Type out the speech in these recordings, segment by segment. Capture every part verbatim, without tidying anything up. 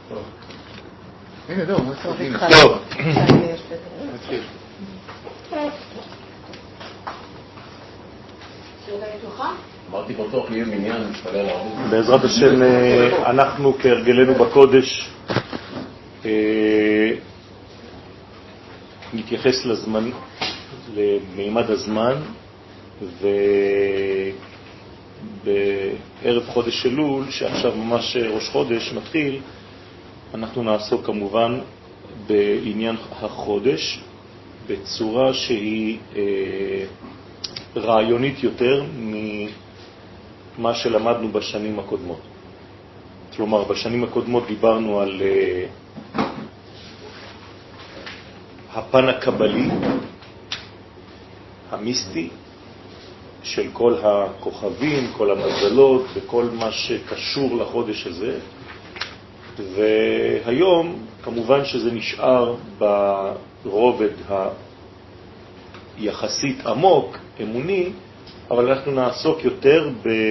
הנה, לא, מה צריך? טוב. נתחיל. אמרתי בטוח יהיה מניין, נתפלל הרבה. בעזרת השם, אנחנו כהרגלנו בקודש נתייחס לזמן, למימד הזמן, ובערב חודש אלול, שעכשיו ממש ראש חודש מתחיל, אנחנו נעסוק כמובן בעניין החודש בצורה שהיא רעיונית יותר ממה שלמדנו בשנים הקודמות. כלומר, בשנים הקודמות דיברנו על uh, הפן הקבלי, המיסטי, של כל הכוכבים, כל המזלות וכל מה שקשור לחודש הזה. והיום, כמובן שזה נשאר ברובד היחסית עמוק, אמוני, אבל אנחנו נעסוק יותר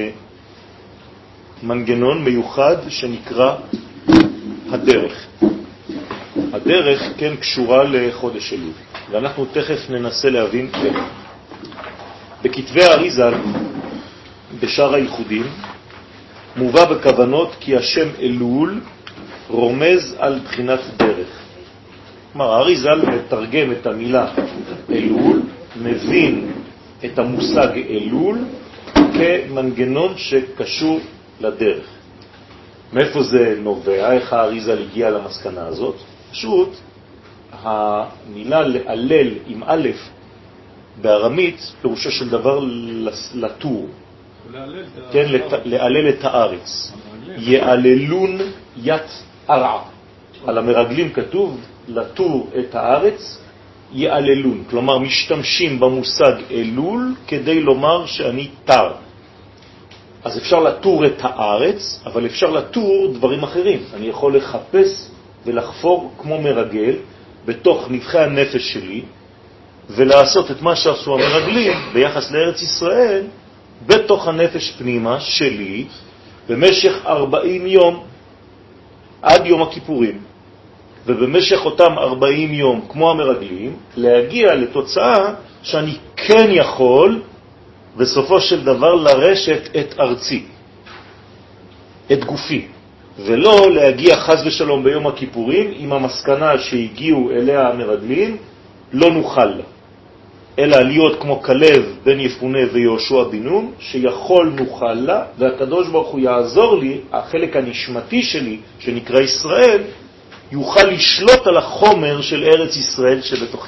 במנגנון מיוחד שנקרא הדרך. הדרך כן קשורה לחודש אלול, ואנחנו תכף ננסה להבין איך. בכתבי האריז"ל, בשאר הייחודים, מובא בכוונות כי השם אלול רומז על בחינת דרך. כלומר, האריז"ל מתרגם את המילה אלול, מבין את המושג אלול כמנגנון שקשור לדרך. מאיפה זה נובע? איך האריז"ל הגיע למסקנה הזאת? פשוט, המילה להלל עם א' בארמית פירושו של דבר לטור. כן, להלל את הארץ. יעללון ית ארעה. על המרגלים כתוב לטור את הארץ יעללון. כלומר, משתמשים במושג אלול כדי לומר שאני תר. אז אפשר לטור את הארץ, אבל אפשר לטור דברים אחרים. אני יכול לחפש ולחפור כמו מרגל בתוך נבחי הנפש שלי, ולעשות את מה שעשו המרגלים ביחס לארץ ישראל בתוך הנפש פנימה שלי במשך ארבעים יום עד יום הכיפורים. ובמשך אותם ארבעים יום, כמו המרגלים, להגיע לתוצאה שאני כן יכול בסופו של דבר לרשת את ארצי, את גופי, ולא להגיע חס ושלום ביום הכיפורים עם המסקנה שהגיעו אליה המרגלים, לא נוכל לה, אלא להיות כמו כלב בן יפונה ויהושע בן נון, שיכול נוכל לה, והקדוש ברוך הוא יעזור לי, החלק הנשמתי שלי, שנקרא ישראל, יוכל לשלוט על החומר של ארץ ישראל שבתוכי.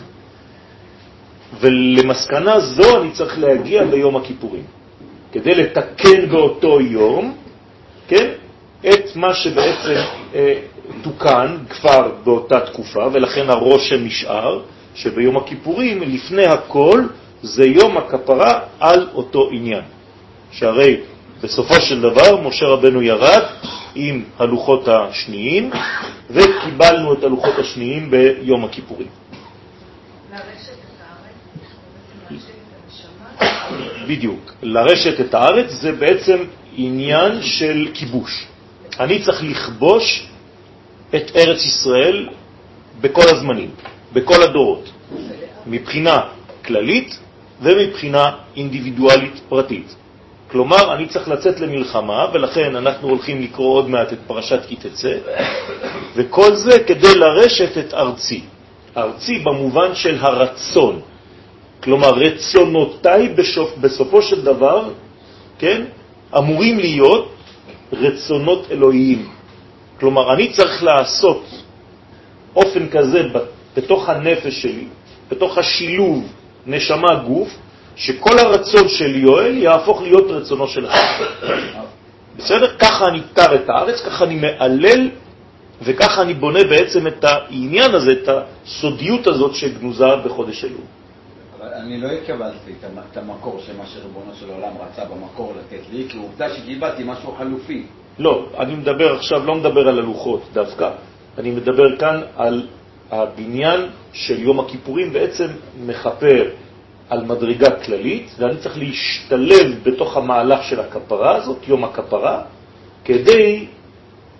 ולמסקנה זו אני צריך להגיע ביום הכיפורים, כדי לתקן באותו יום, כן, את מה שבעצם אה, תוקן כבר באותה תקופה, ולכן הרושם נשאר, שביום הכיפורים, לפני הכל, זה יום הכפרה על אותו עניין. שהרי בסופו של דבר, משה רבנו ירד עם הלוחות השניים, וקיבלנו את הלוחות השניים ביום הכיפורים. לרשת את הארץ, לרשת את הנשמה? בדיוק. לרשת את הארץ זה בעצם עניין של כיבוש. אני צריך לכבוש את ארץ ישראל בכל הזמנים, בכל הדורות, מבחינה כללית ומבחינה אינדיבידואלית פרטית. כלומר, אני צריך לצאת למלחמה, ולכן אנחנו הולכים לקרוא עוד מעט את פרשת כי תצא, וכל זה כדי לרשת את ארצי. ארצי במובן של הרצון. כלומר, רצונותיי בסופ, בסופו של דבר, כן, אמורים להיות רצונות אלוהיים. כלומר, אני צריך לעשות אופן כזה בתוך הנפש שלי, בתוך השילוב נשמה גוף, שכל הרצון של יואל יהפוך להיות רצונו של אחד. בסדר? ככה אני תר את הארץ, ככה אני מעלל, וככה אני בונה בעצם את העניין הזה, את הסודיות הזאת שגנוזה בחודש אלול. אבל אני לא הקבלתי את המקור של מה שריבונו של העולם רצה במקור לתת לי, כי עובדה שקיבלתי משהו חלופי. לא, אני מדבר עכשיו, לא מדבר על הלוחות דווקא. אני מדבר כאן על הבניין של יום הכיפורים, בעצם מחפר על מדרגה כללית, ואני צריך להשתלב בתוך המהלך של הכפרה הזאת, יום הכפרה, כדי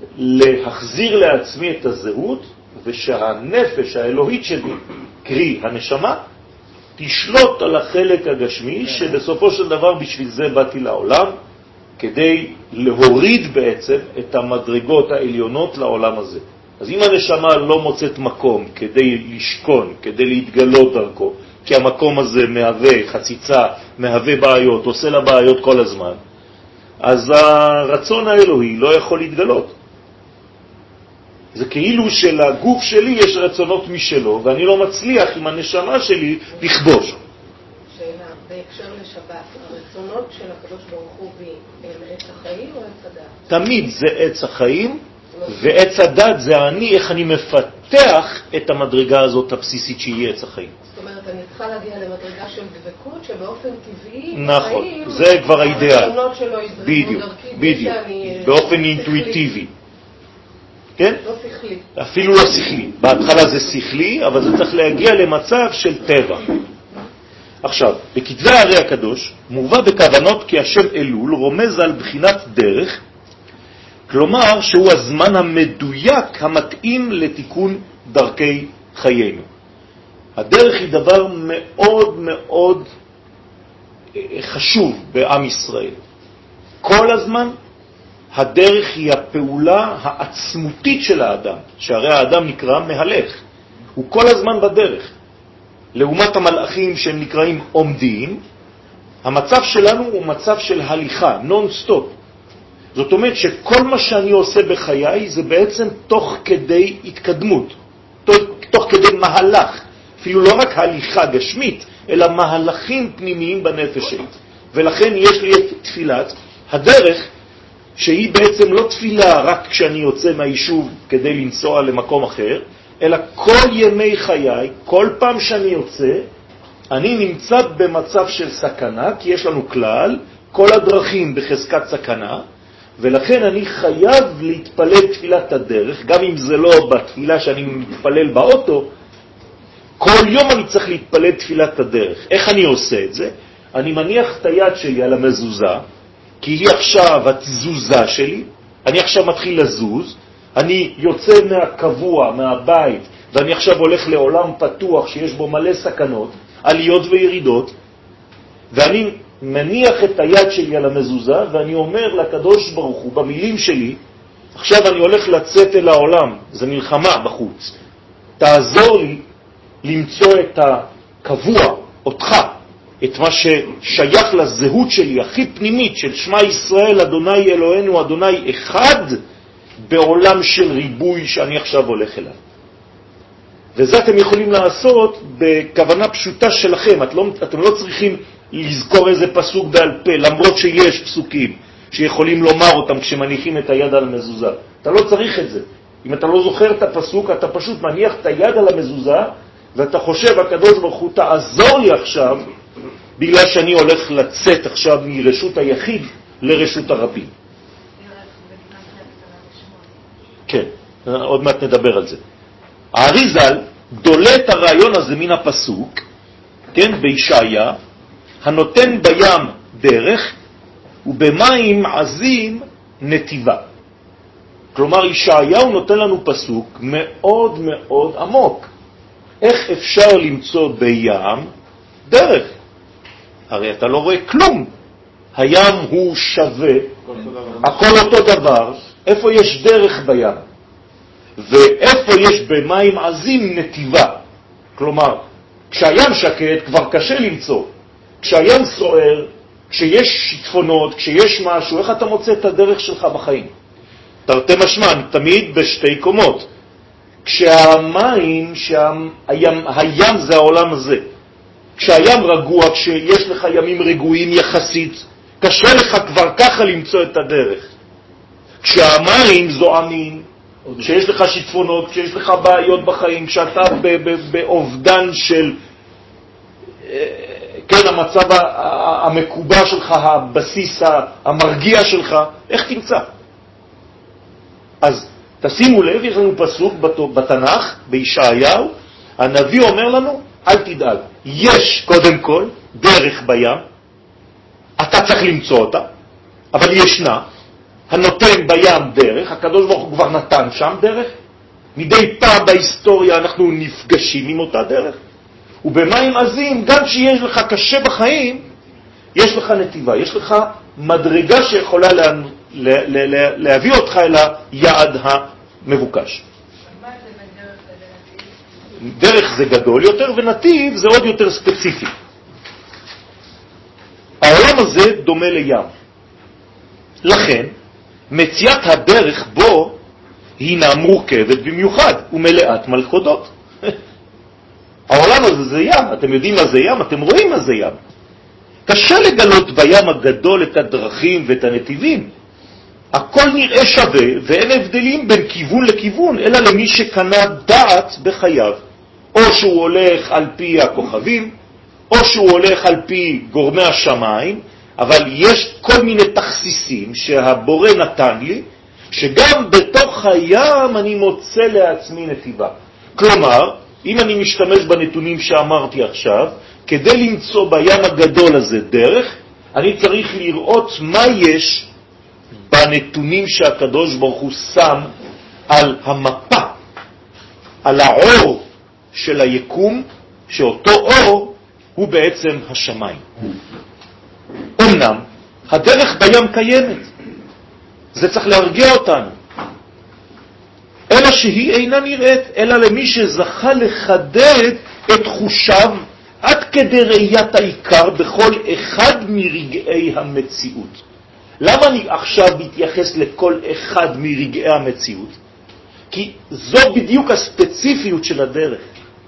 להחזיר לעצמי את הזהות, ושהנפש האלוהית שלי, קרי הנשמה, תשלוט על החלק הגשמי, שבסופו של דבר בשביל זה באתי לעולם, כדי להוריד בעצם את המדרגות העליונות לעולם הזה. אז אם הנשמה לא מוצאת מקום כדי לשכון, כדי להתגלות דרכו, כי המקום הזה מהווה חציצה, מהווה בעיות, עושה לה בעיות כל הזמן, אז הרצון האלוהי לא יכול להתגלות. זה כאילו שלגוף שלי יש רצונות משלו, ואני לא מצליח עם הנשמה שלי לכבוש. שאלה, בהקשר לשבת, הרצונות של הקדוש ברוך הוא הם עץ החיים או עץ הדת? תמיד זה עץ החיים, ועץ הדת זה אני, איך אני מפתח את המדרגה הזאת הבסיסית שהיא עץ החיים. זאת אומרת, אני צריכה להגיע למדרגה של דבקות שבאופן טבעי, נכון, זה כבר האידאל. הרצונות שלו יזרמו דרכי, בדיוק, באופן אינטואיטיבי. כן? לא שכלי. אפילו לא שכלי. בהתחלה זה שכלי, אבל זה צריך להגיע למצב של טבע. עכשיו, בכתבי הרי הקדוש מובא בכוונות כי השם אלול רומז על בחינת דרך, כלומר שהוא הזמן המדויק המתאים לתיקון דרכי חיינו. הדרך היא דבר מאוד מאוד חשוב בעם ישראל. כל הזמן הדרך היא הפעולה העצמותית של האדם, שהרי האדם נקרא מהלך, הוא כל הזמן בדרך. לעומת המלאכים שהם נקראים עומדים, המצב שלנו הוא מצב של הליכה, נון סטופ. זאת אומרת שכל מה שאני עושה בחיי זה בעצם תוך כדי התקדמות, תוך, תוך כדי מהלך, אפילו לא רק הליכה גשמית, אלא מהלכים פנימיים בנפש שלי. ולכן יש לי את תפילת הדרך, שהיא בעצם לא תפילה רק כשאני יוצא מהיישוב כדי לנסוע למקום אחר, אלא כל ימי חיי, כל פעם שאני יוצא, אני נמצא במצב של סכנה, כי יש לנו כלל, כל הדרכים בחזקת סכנה, ולכן אני חייב להתפלל תפילת הדרך, גם אם זה לא בתפילה שאני מתפלל באוטו, כל יום אני צריך להתפלל תפילת הדרך. איך אני עושה את זה? אני מניח את היד שלי על המזוזה, כי היא עכשיו התזוזה שלי, אני עכשיו מתחיל לזוז, אני יוצא מהקבוע, מהבית, ואני עכשיו הולך לעולם פתוח שיש בו מלא סכנות, עליות וירידות, ואני מניח את היד שלי על המזוזה, ואני אומר לקדוש ברוך הוא במילים שלי, עכשיו אני הולך לצאת אל העולם, זה מלחמה בחוץ, תעזור לי למצוא את הקבוע, אותך, את מה ששייך לזהות שלי, הכי פנימית, של שמה ישראל, אדוני אלוהינו, אדוני אחד, בעולם של ריבוי שאני עכשיו הולך אליו. וזה אתם יכולים לעשות בכוונה פשוטה שלכם. את לא, אתם לא צריכים לזכור איזה פסוק בעל פה, למרות שיש פסוקים שיכולים לומר אותם כשמניחים את היד על המזוזה. אתה לא צריך את זה. אם אתה לא זוכר את הפסוק, אתה פשוט מניח את היד על המזוזה, ואתה חושב, הקדוש ברוך הוא תעזור לי עכשיו, בגלל שאני הולך לצאת עכשיו מרשות היחיד לרשות הרבים. כן, עוד מעט נדבר על זה. האריזל דולה את הרעיון הזה מן הפסוק, כן, בישעיה, הנותן בים דרך ובמים עזים נתיבה. כלומר, ישעיהו נותן לנו פסוק מאוד מאוד עמוק. איך אפשר למצוא בים דרך? הרי אתה לא רואה כלום. הים הוא שווה, הכל אותו דבר. איפה יש דרך בים? ואיפה יש במים עזים נתיבה? כלומר, כשהים שקט כבר קשה למצוא. כשהים סוער, כשיש שיטפונות, כשיש משהו, איך אתה מוצא את הדרך שלך בחיים? תרתי משמע, תמיד בשתי קומות. כשהמים, שהים, הים זה העולם הזה. כשהים רגוע, כשיש לך ימים רגועים יחסית, קשה לך כבר ככה למצוא את הדרך. כשהמים זועמים, כשיש לך שיטפונות, כשיש לך בעיות בחיים, כשאתה באובדן של, כן, המצב המקובע שלך, הבסיס המרגיע שלך, איך תמצא? אז תשימו לב, יש לנו פסוק בתנ"ך, בישעיהו, הנביא אומר לנו, אל תדאג, יש קודם כל דרך בים, אתה צריך למצוא אותה, אבל היא ישנה, הנותן בים דרך, הקדוש ברוך הוא כבר נתן שם דרך, מדי פעם בהיסטוריה אנחנו נפגשים עם אותה דרך, ובמים עזים, גם שיש לך קשה בחיים, יש לך נתיבה, יש לך מדרגה שיכולה לה, לה, לה, לה, להביא אותך אל היעד המבוקש. מה זה בדרך לנתיב? דרך זה גדול יותר, ונתיב זה עוד יותר ספציפי. העולם הזה דומה לים. לכן, מציאת הדרך בו הינה מורכבת במיוחד ומלאת מלכודות. העולם הזה זה ים, אתם יודעים מה זה ים, אתם רואים מה זה ים. קשה לגלות בים הגדול את הדרכים ואת הנתיבים. הכל נראה שווה ואין הבדלים בין כיוון לכיוון, אלא למי שקנה דעת בחייו. או שהוא הולך על פי הכוכבים, או שהוא הולך על פי גורמי השמיים, אבל יש כל מיני תכסיסים שהבורא נתן לי, שגם בתוך הים אני מוצא לעצמי נתיבה. כלומר, אם אני משתמש בנתונים שאמרתי עכשיו, כדי למצוא בים הגדול הזה דרך, אני צריך לראות מה יש בנתונים שהקדוש ברוך הוא שם על המפה, על האור של היקום, שאותו אור הוא בעצם השמיים. אמנם, הדרך בים קיימת, זה צריך להרגיע אותנו, אלא שהיא אינה נראית, אלא למי שזכה לחדד את תחושיו עד כדי ראיית העיקר בכל אחד מרגעי המציאות. למה אני עכשיו מתייחס לכל אחד מרגעי המציאות? כי זו בדיוק הספציפיות של הדרך.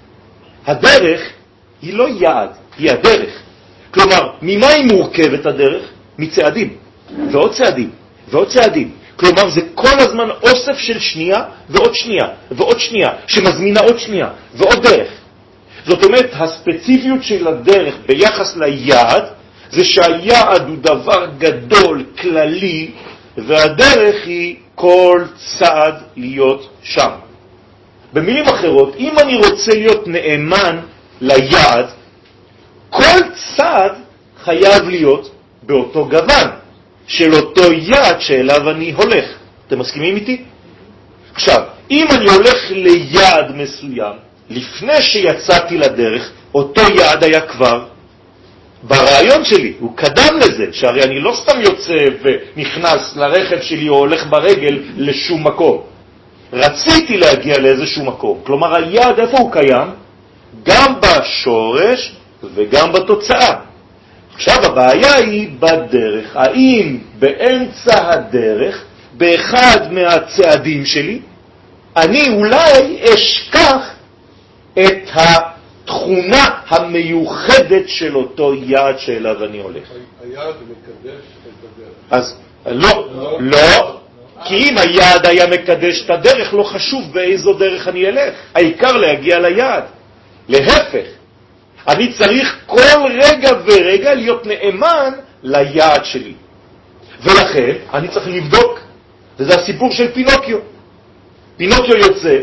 הדרך היא לא יעד, היא הדרך. כלומר, ממה היא מורכבת הדרך? מצעדים, ועוד צעדים, ועוד צעדים. כלומר, זה כל הזמן אוסף של שנייה ועוד שנייה ועוד שנייה, שמזמינה עוד שנייה ועוד דרך. זאת אומרת, הספציפיות של הדרך ביחס ליעד, זה שהיעד הוא דבר גדול, כללי, והדרך היא כל צעד להיות שם. במילים אחרות, אם אני רוצה להיות נאמן ליעד, כל צעד חייב להיות באותו גוון של אותו יעד שאליו אני הולך. אתם מסכימים איתי? עכשיו, אם אני הולך ליעד מסוים, לפני שיצאתי לדרך, אותו יעד היה כבר ברעיון שלי, הוא קדם לזה, שהרי אני לא סתם יוצא ונכנס לרכב שלי או הולך ברגל לשום מקום. רציתי להגיע לאיזשהו מקום. כלומר, היעד איפה הוא קיים? גם בשורש וגם בתוצאה. עכשיו הבעיה היא בדרך. האם באמצע הדרך, באחד מהצעדים שלי, אני אולי אשכח את התכונה המיוחדת של אותו יעד שאליו אני הולך. היעד מקדש את הדרך. אז לא, לא, כי אם היעד היה מקדש את הדרך, לא חשוב באיזו דרך אני אלך. העיקר להגיע ליעד. להפך, אני צריך כל רגע ורגע להיות נאמן ליעד שלי. ולכן אני צריך לבדוק, וזה הסיפור של פינוקיו. פינוקיו יוצא,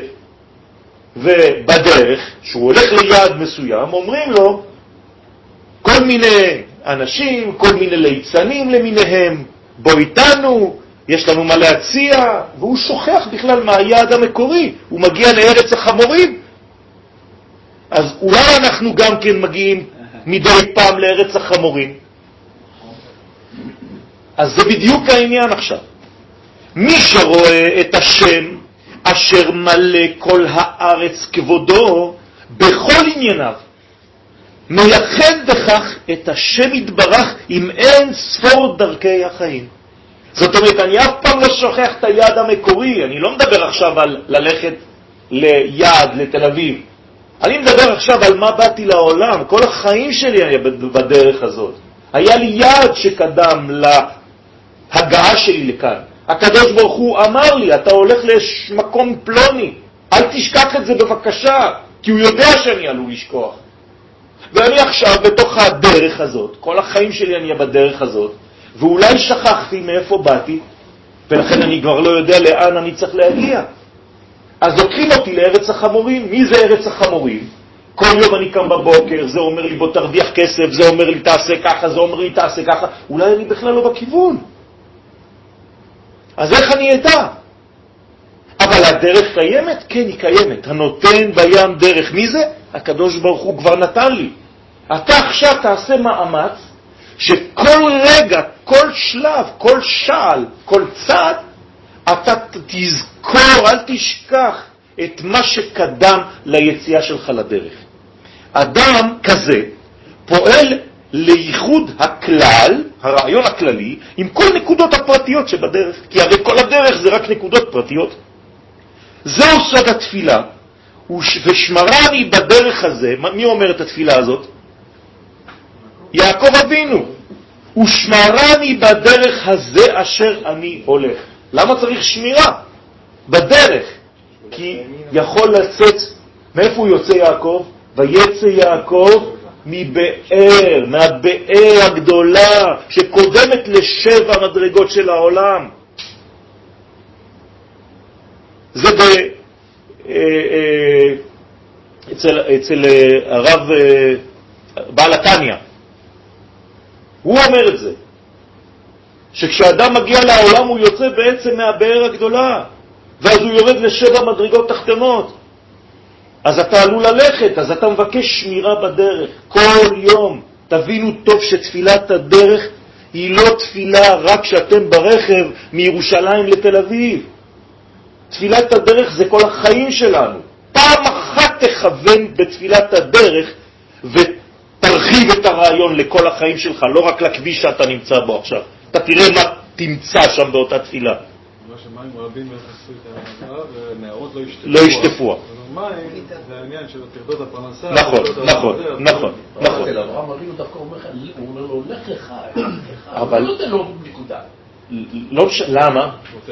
ובדרך, שהוא הולך ליעד מסוים, אומרים לו כל מיני אנשים, כל מיני ליצנים למיניהם, בוא איתנו, יש לנו מה להציע, והוא שוכח בכלל מהיעד המקורי, הוא מגיע לארץ החמורים. אז אולי אנחנו גם כן מגיעים מדי פעם לארץ החמורים. אז זה בדיוק העניין עכשיו. מי שרואה את השם אשר מלא כל הארץ כבודו בכל ענייניו, מייחד בכך את השם יתברך עם אין ספור דרכי החיים. זאת אומרת, אני אף פעם לא שוכח את היעד המקורי. אני לא מדבר עכשיו על ללכת ליעד, לתל אביב. אני מדבר עכשיו על מה באתי לעולם. כל החיים שלי היה בדרך הזאת. היה לי יעד שקדם להגעה שלי לכאן. הקדוש ברוך הוא אמר לי, אתה הולך למקום פלוני, אל תשכח את זה בבקשה, כי הוא יודע שאני עלול לשכוח. ואני עכשיו בתוך הדרך הזאת, כל החיים שלי אני בדרך הזאת, ואולי שכחתי מאיפה באתי, ולכן אני כבר לא יודע לאן אני צריך להגיע. אז לוקחים אותי לארץ החמורים. מי זה ארץ החמורים? כל יום אני קם בבוקר, זה אומר לי בוא תרוויח כסף, זה אומר לי תעשה ככה, זה אומר לי תעשה ככה. אולי אני בכלל לא בכיוון. אז איך אני אדע? אבל הדרך קיימת? כן, היא קיימת. הנותן בים דרך. מי זה? הקדוש ברוך הוא כבר נתן לי. אתה עכשיו תעשה מאמץ שכל רגע, כל שלב, כל שעל, כל צעד, אתה תזכור, אל תשכח את מה שקדם ליציאה שלך לדרך. אדם כזה פועל לייחוד הכלל, הרעיון הכללי, עם כל נקודות הפרטיות שבדרך. כי הרי כל הדרך זה רק נקודות פרטיות. זהו סוד התפילה, ושמרני בדרך הזה. מי אומר את התפילה הזאת? יעקב אבינו. ושמרני בדרך הזה אשר אני הולך. למה צריך שמירה? בדרך. כי יכול לצאת, מאיפה הוא יוצא יעקב? ויצא יעקב מבאר, מהבאר הגדולה שקודמת לשבע מדרגות של העולם. זה ב... אצל, אצל הרב בעל התניא. הוא אומר את זה, שכשאדם מגיע לעולם הוא יוצא בעצם מהבאר הגדולה, ואז הוא יורד לשבע מדרגות תחתונות. אז אתה עלול ללכת, אז אתה מבקש שמירה בדרך כל יום. תבינו טוב שתפילת הדרך היא לא תפילה רק כשאתם ברכב מירושלים לתל אביב. תפילת הדרך זה כל החיים שלנו. פעם אחת תכוון בתפילת הדרך ותרחיב את הרעיון לכל החיים שלך, לא רק לכביש שאתה נמצא בו עכשיו. אתה תראה מה תמצא שם באותה תפילה. מה שמים רבים יחסו את ההרעה ונערות לא ישטפוה. לא ישטפוה. מים זה העניין של תרדות הפרנסה. נכון, נכון, נכון, נכון. אצל אברהם אבינו דווקא אומר לו, לך לך, אבל לא נותן לו נקודה. לא משנה, למה?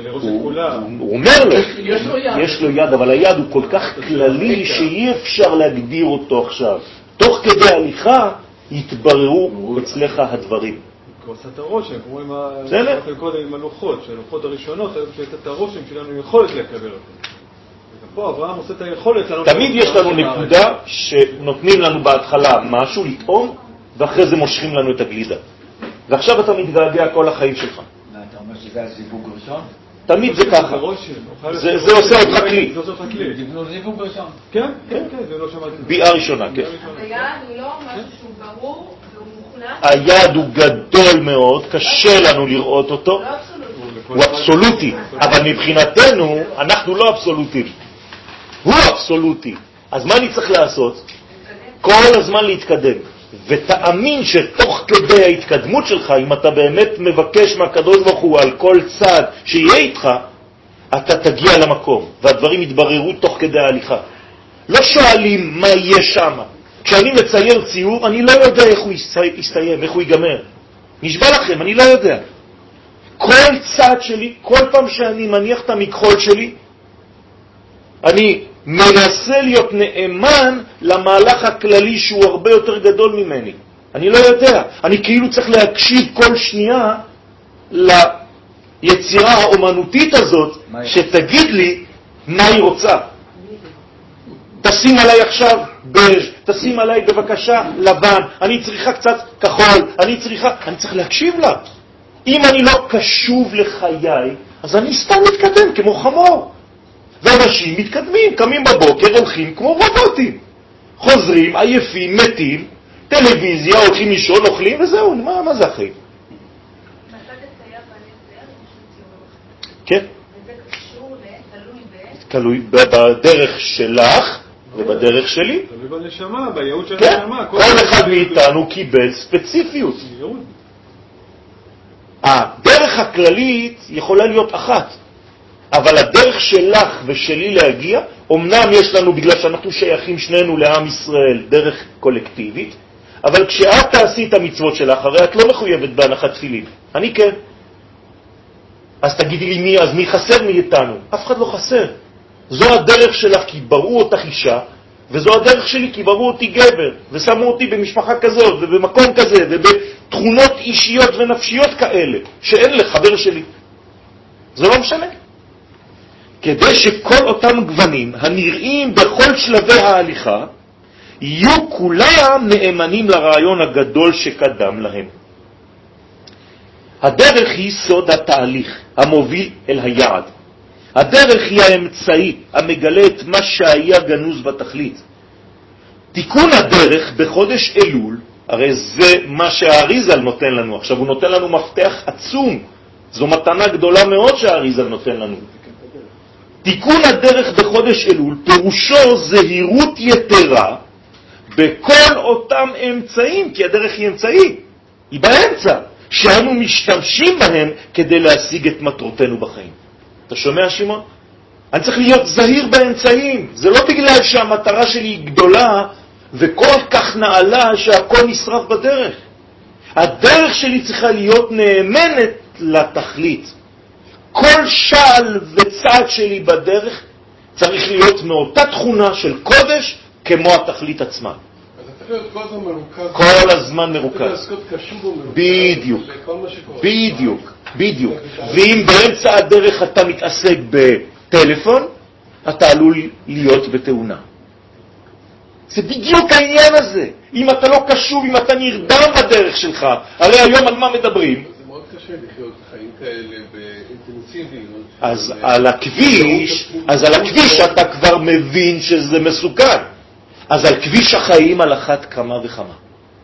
הוא אומר לו, יש לו יד, אבל היד הוא כל כך כללי שאי אפשר להגדיר אותו עכשיו. תוך כדי הליכה יתבררו אצלך הדברים. הוא עשה את הרושם, כמו עם הלוחות, שהלוחות הראשונות, את הרושם שלנו יכולת לקבל אותו. פה אברהם עושה את היכולת. תמיד יש לנו נקודה שנותנים לנו בהתחלה משהו לטעום, ואחרי זה מושכים לנו את הגלידה. ועכשיו אתה מתגעגע כל החיים שלך. אתה אומר שזה הזיווג ראשון? תמיד זה ככה. זה עושה אותך כלי. זה עושה אותך כלי. זה זיווג ראשון. כן, כן, כן, זה לא שמעתי. ביאה ראשונה, כן. היד הוא לא משהו שהוא ברור והוא מוכנס. היד הוא גדול מאוד, קשה לנו לראות אותו. הוא אבסולוטי, אבל מבחינתנו אנחנו לא אבסולוטים. הוא אבסולוטי. אז מה אני צריך לעשות? כל הזמן להתקדם. ותאמין שתוך כדי ההתקדמות שלך, אם אתה באמת מבקש מהקדוש ברוך הוא על כל צעד שיהיה איתך, אתה תגיע למקום, והדברים יתבררו תוך כדי ההליכה. לא שואלים מה יהיה שם. כשאני מצייר ציור, אני לא יודע איך הוא יסתיים, איך הוא ייגמר. נשבע לכם, אני לא יודע. כל צעד שלי, כל פעם שאני מניח את המכחול שלי, אני מנסה להיות נאמן למהלך הכללי שהוא הרבה יותר גדול ממני. אני לא יודע. אני כאילו צריך להקשיב כל שנייה ליצירה האומנותית הזאת שתגיד לי מה היא רוצה. תשים עליי עכשיו בז', תשים עליי בבקשה לבן, אני צריכה קצת כחול, אני צריכה, אני צריך להקשיב לה. אם אני לא קשוב לחיי, אז אני סתם מתקדם כמו חמור. ואנשים מתקדמים, קמים בבוקר, הולכים כמו רובוטים. חוזרים, עייפים, מתים, טלוויזיה, הולכים לישון, אוכלים וזהו, מה, מה זה החיים? מצד הצייר והנצייר, יש ציור. כן. וזה קשור לתלוי ב... תלוי בדרך שלך ובדרך שלי. תלוי בנשמה, בייעוד של כן, הנשמה. כל אחד מאיתנו קיבל ספציפיות. הדרך הכללית יכולה להיות אחת. אבל הדרך שלך ושלי להגיע, אמנם יש לנו, בגלל שאנחנו שייכים שנינו לעם ישראל, דרך קולקטיבית, אבל כשאת תעשי את המצוות שלך, הרי את לא מחויבת בהנחת תפילין. אני כן. אז תגידי לי מי, אז מי חסר מאיתנו? אף אחד לא חסר. זו הדרך שלך כי בראו אותך אישה, וזו הדרך שלי כי בראו אותי גבר, ושמו אותי במשפחה כזאת, ובמקום כזה, ובתכונות אישיות ונפשיות כאלה, שאין לחבר שלי. זה לא משנה. כדי שכל אותם גוונים הנראים בכל שלבי ההליכה יהיו כולם נאמנים לרעיון הגדול שקדם להם. הדרך היא סוד התהליך המוביל אל היעד. הדרך היא האמצעי המגלה את מה שהיה גנוז בתכלית. תיקון הדרך בחודש אלול, הרי זה מה שהאריזל נותן לנו. עכשיו הוא נותן לנו מפתח עצום. זו מתנה גדולה מאוד שהאריזל נותן לנו. תיקון הדרך בחודש אלול פירושו זהירות יתרה בכל אותם אמצעים, כי הדרך היא אמצעי, היא באמצע, שאנו משתמשים בהם כדי להשיג את מטרותינו בחיים. אתה שומע, שמעון? אני צריך להיות זהיר באמצעים. זה לא בגלל שהמטרה שלי היא גדולה וכל כך נעלה שהכל נשרף בדרך. הדרך שלי צריכה להיות נאמנת לתכלית. כל שעל וצעד שלי בדרך צריך להיות מאותה תכונה של קודש כמו התכלית עצמה. אז אתה צריך להיות כל הזמן מרוכז. כל הזמן מרוכז. בדיוק. בדיוק. בדיוק. ואם באמצע הדרך אתה מתעסק בטלפון, אתה עלול להיות בתאונה. זה בדיוק העניין הזה. אם אתה לא קשוב, אם אתה נרדם בדרך שלך, הרי היום על מה מדברים? זה מאוד קשה לחיות חיים כאלה באינטנסיביות. אז על הכביש, אז על הכביש אתה כבר מבין שזה מסוכן. אז על כביש החיים על אחת כמה וכמה.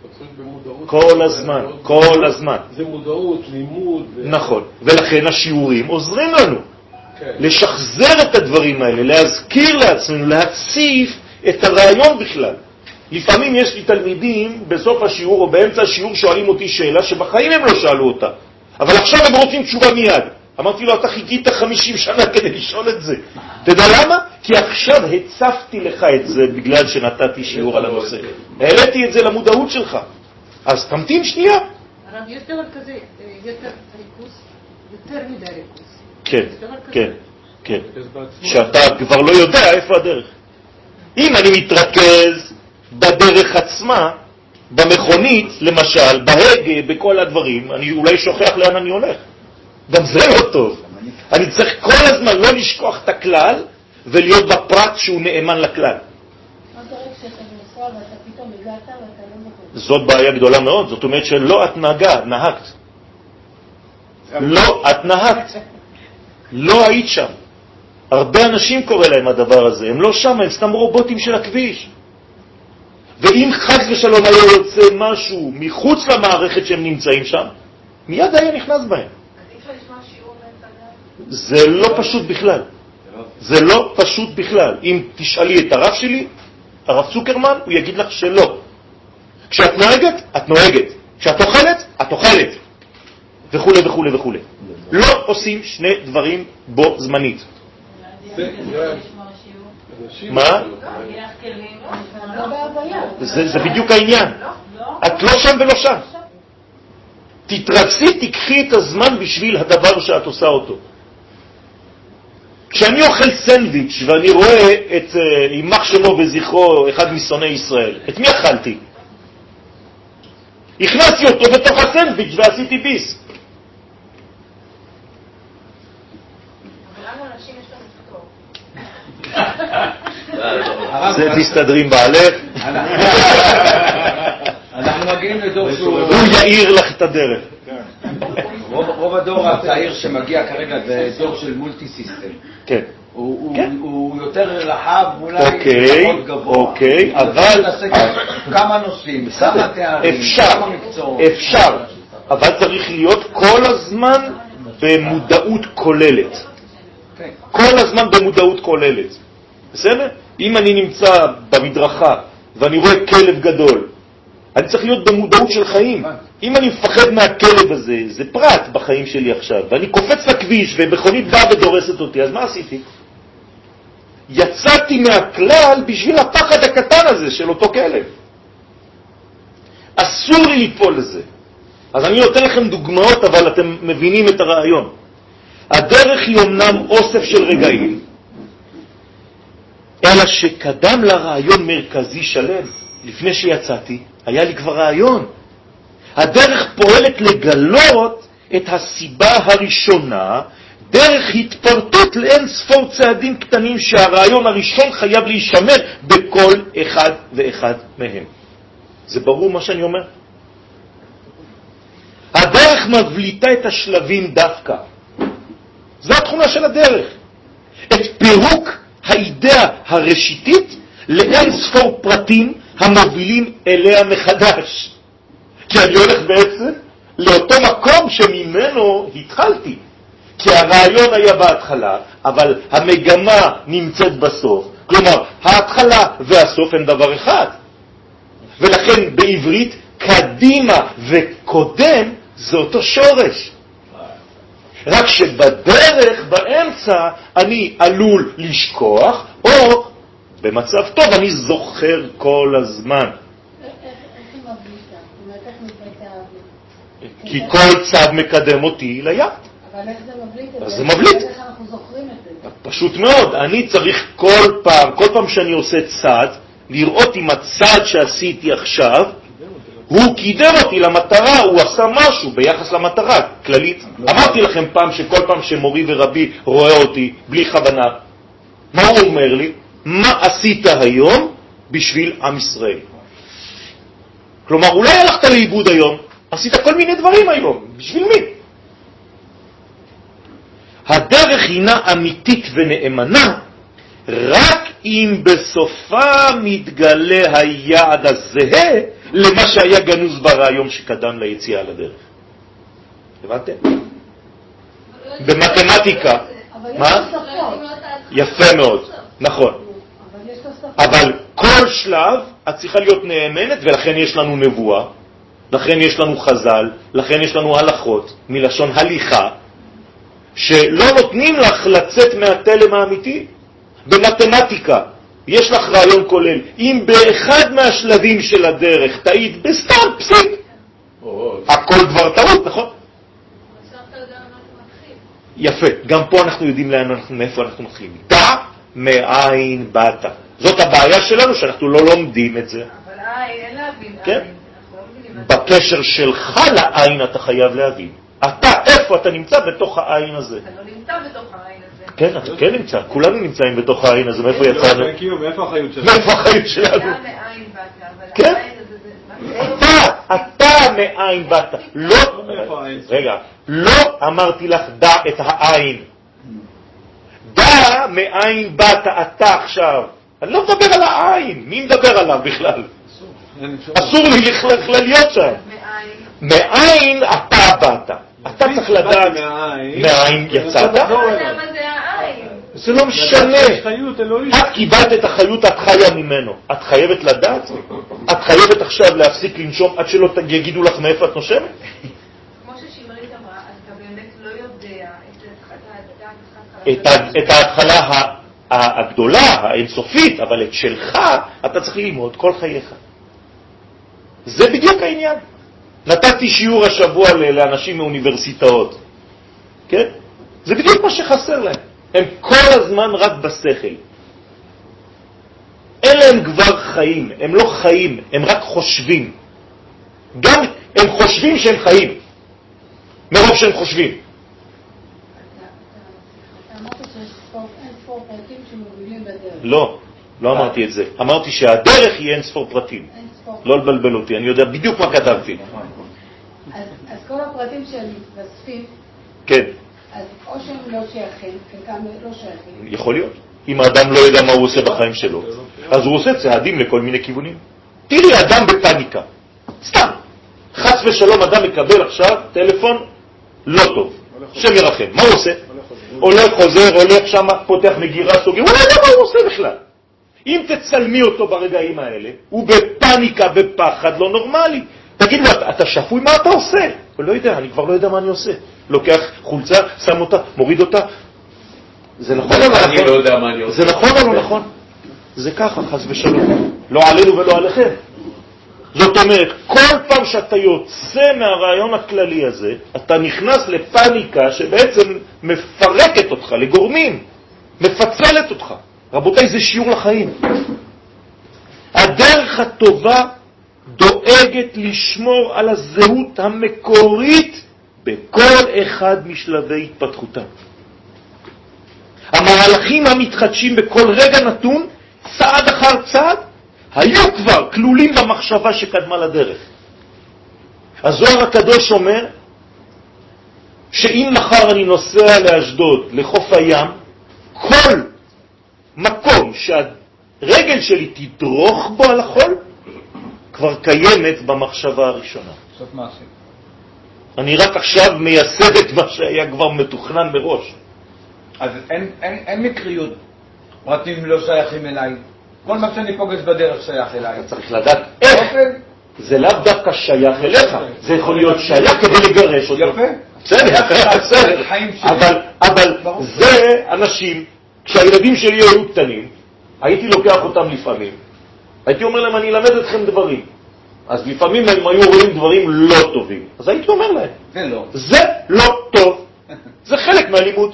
כל הזמן, כל הזמן. זה מודעות, לימוד. נכון. ולכן השיעורים עוזרים לנו. לשחזר את הדברים האלה, להזכיר לעצמנו, להציף את הרעיון בכלל. לפעמים יש לי תלמידים בסוף השיעור או באמצע השיעור שואלים אותי שאלה שבחיים הם לא שאלו אותה. אבל עכשיו הם רוצים תשובה מיד. אמרתי לו, אתה חיכית חמישים שנה כדי לשאול את זה. אתה יודע למה? כי עכשיו הצפתי לך את זה בגלל שנתתי שיעור על הנושא. העליתי את זה למודעות שלך. אז תמתין שנייה. הרב, יש דבר כזה, יותר ריכוז, יותר מדי ריכוז. כן, כן, כן. שאתה כבר לא יודע איפה הדרך. אם אני מתרכז בדרך עצמה, במכונית, למשל, בהגה, בכל הדברים, אני אולי שוכח לאן אני הולך. גם זה לא טוב. אני צריך כל הזמן לא לשכוח את הכלל ולהיות בפרט שהוא נאמן לכלל. זאת בעיה גדולה מאוד. זאת אומרת שלא את נהגה, נהגת. לא את נהגת. לא היית שם. הרבה אנשים קורא להם הדבר הזה. הם לא שם, הם סתם רובוטים של הכביש. ואם חס ושלום היה יוצא משהו מחוץ למערכת שהם נמצאים שם, מיד היה נכנס בהם. זה לא פשוט בכלל. זה לא פשוט בכלל. אם תשאלי את הרב שלי, הרב צוקרמן, הוא יגיד לך שלא. כשאת נוהגת, את נוהגת. כשאת אוכלת, את אוכלת. וכו' וכו' וכו'. לא עושים שני דברים בו זמנית. מה? זה בדיוק העניין. את לא שם ולא שם. תתרכזי, תקחי את הזמן בשביל הדבר שאת עושה אותו. כשאני אוכל סנדוויץ' ואני רואה את יימח שמו וזכרו, אחד משונאי ישראל, את מי אכלתי? הכנסתי אותו בתוך הסנדוויץ' ועשיתי ביס. זה תסתדרים בעלך. אנחנו מגיעים לדור שהוא... הוא יאיר לך את הדרך. רוב הדור הצעיר שמגיע כרגע זה דור של מולטי סיסטם. כן. הוא יותר רחב, אולי פחות גבוה. אוקיי, אבל... כמה נושאים, כמה תארים, כמה מקצועות. אפשר, אבל צריך להיות כל הזמן במודעות כוללת. כל הזמן במודעות כוללת. בסדר? אם אני נמצא במדרכה ואני רואה כלב גדול, אני צריך להיות במודעות של חיים. אם אני מפחד מהכלב הזה, זה פרט בחיים שלי עכשיו, ואני קופץ לכביש ומכונית באה ודורסת אותי, אז מה עשיתי? יצאתי מהכלל בשביל הפחד הקטן הזה של אותו כלב. אסור לי ליפול לזה. אז אני נותן לכם דוגמאות, אבל אתם מבינים את הרעיון. הדרך היא אומנם אוסף של רגעים, אלא שקדם לרעיון מרכזי שלם. לפני שיצאתי, היה לי כבר רעיון. הדרך פועלת לגלות את הסיבה הראשונה, דרך התפרטות לאין ספור צעדים קטנים שהרעיון הראשון חייב להישמר בכל אחד ואחד מהם. זה ברור מה שאני אומר? הדרך הדרך מבליטה את השלבים דווקא. זו התכונה של הדרך. את פירוק האידאה הראשיתית לאין ספור פרטים המובילים אליה מחדש. כי אני הולך בעצם לאותו מקום שממנו התחלתי. כי הרעיון היה בהתחלה, אבל המגמה נמצאת בסוף. כלומר, ההתחלה והסוף הם דבר אחד. ולכן בעברית קדימה וקודם זה אותו שורש. רק שבדרך, באמצע, אני עלול לשכוח, או במצב טוב אני זוכר כל הזמן. איך היא מבליטה? זאת אומרת, איך מבליטה ההבליט? כי כל צד מקדם אותי ליד. אבל איך זה מבליט? אז זה מבליט. איך אנחנו זוכרים את זה? פשוט מאוד. אני צריך כל פעם, כל פעם שאני עושה צד, לראות אם הצד שעשיתי עכשיו, הוא קידם אותי למטרה, הוא עשה משהו ביחס למטרה, כללית. אמרתי לכם פעם שכל פעם שמורי ורבי רואה אותי בלי כוונה, מה הוא אומר לי? מה עשית היום בשביל עם ישראל? כלומר, אולי הלכת לאיבוד היום, עשית כל מיני דברים היום, בשביל מי? הדרך הינה אמיתית ונאמנה, רק אם בסופה מתגלה היעד הזהה למה שהיה גנוז ברעיון שקדם ליציאה לדרך. הבנתם? במתמטיקה. מה? יפה מאוד, נכון. אבל כל שלב את צריכה להיות נאמנת, ולכן יש לנו נבואה, לכן יש לנו חז"ל, לכן יש לנו הלכות מלשון הליכה, שלא נותנים לך לצאת מהתלם האמיתי. במתמטיקה יש לך רעיון כולל. אם באחד מהשלבים של הדרך תעיד בסתם פסיק, הכל כבר טעות, נכון? יפה, גם פה אנחנו יודעים לאן אנחנו, מאיפה אנחנו מתחילים. דע מאין באת. זאת הבעיה שלנו, שאנחנו לא לומדים את זה. אבל עין, אין להבין כן? עין. בקשר שלך לעין אתה חייב להבין. אתה, איפה אתה נמצא בתוך העין הזה? אתה לא נמצא בתוך העין הזה. כן, אתה כן נמצא. כולנו נמצאים בתוך העין הזה. מאיפה יצאנו? מאיפה החיות שלנו? מאיפה החיות שלנו? אתה מאין באת, אבל כן? העין הזה זה... אתה, אתה מאין באת. לא, רגע, לא אמרתי לך דע את העין. דע מאין באת אתה עכשיו. אני לא מדבר על העין. מי מדבר עליו בכלל? אסור לי בכלל להיות שם. מאין אתה באת. אתה צריך לדעת מאין יצאת. זה לא משנה. את קיבלת את החיות, את חיה ממנו. את חייבת לדעת. את חייבת עכשיו להפסיק לנשום עד שלא יגידו לך מאיפה את נושמת. כמו ששמרית אמרה, אתה באמת לא יודע את ההתחלה הגדולה, האינסופית, אבל את שלך אתה צריך ללמוד כל חייך. זה בדיוק העניין. נתתי שיעור השבוע לאנשים מאוניברסיטאות. כן? זה בדיוק מה שחסר להם. הם כל הזמן רק בשכל. אלה הם כבר חיים. הם לא חיים, הם רק חושבים. גם הם חושבים שהם חיים. מרוב שהם חושבים. אתה אמרת שיש אין ספור פרטים שמובילים בדרך. לא, לא אמרתי את זה. אמרתי שהדרך היא אין ספור פרטים. לא לבלבל אותי, אני יודע בדיוק מה כתבתי. אז כל הפרטים שהם מתווספים, כן. אז או שהם לא שייכים, חלקם לא שייכים. יכול להיות. אם האדם לא יודע מה הוא עושה בחיים שלו, אז הוא עושה צעדים לכל מיני כיוונים. תראי, אדם בפניקה. סתם. חס ושלום אדם מקבל עכשיו טלפון לא טוב. שם ירחם. מה הוא עושה? הולך, חוזר, הולך שם, פותח מגירה, סוגר. הוא לא יודע מה הוא עושה בכלל. אם תצלמי אותו ברגעים האלה, הוא בפניקה, בפחד, לא נורמלי. תגיד לו, אתה שפוי, מה אתה עושה? הוא לא יודע, אני כבר לא יודע מה אני עושה. לוקח חולצה, שם אותה, מוריד אותה. זה נכון או לא נכון? אני לא יודע מה אני עושה. זה נכון או לא נכון? זה ככה, חס ושלום. לא עלינו ולא עליכם. זאת אומרת, כל פעם שאתה יוצא מהרעיון הכללי הזה, אתה נכנס לפניקה שבעצם מפרקת אותך לגורמים, מפצלת אותך. רבותיי, זה שיעור לחיים. הדרך הטובה דואגת לשמור על הזהות המקורית בכל אחד משלבי התפתחותה. המהלכים המתחדשים בכל רגע נתון, צעד אחר צעד, היו כבר כלולים במחשבה שקדמה לדרך. הזוהר הקדוש אומר, שאם מחר אני נוסע לאשדוד, לחוף הים, כל מקום שהרגל שלי תדרוך בו על החול, כבר קיימת במחשבה הראשונה. סוף מעשי. אני רק עכשיו מייסד את מה שהיה כבר מתוכנן מראש. אז אין, אין, אין מקריות. פרטים לא שייכים אליי. כל מה שאני פוגש בדרך שייך אליי. אתה צריך לדעת איך. זה לאו דווקא שייך אליך. זה יכול להיות שייך כדי לגרש אותו. יפה. בסדר, בסדר. אבל, אבל זה אנשים, כשהילדים שלי היו קטנים, הייתי לוקח אותם לפעמים. הייתי אומר להם, אני אלמד אתכם דברים. אז לפעמים הם היו רואים דברים לא טובים. אז הייתי אומר להם, זה לא. זה לא טוב. זה חלק מהלימוד.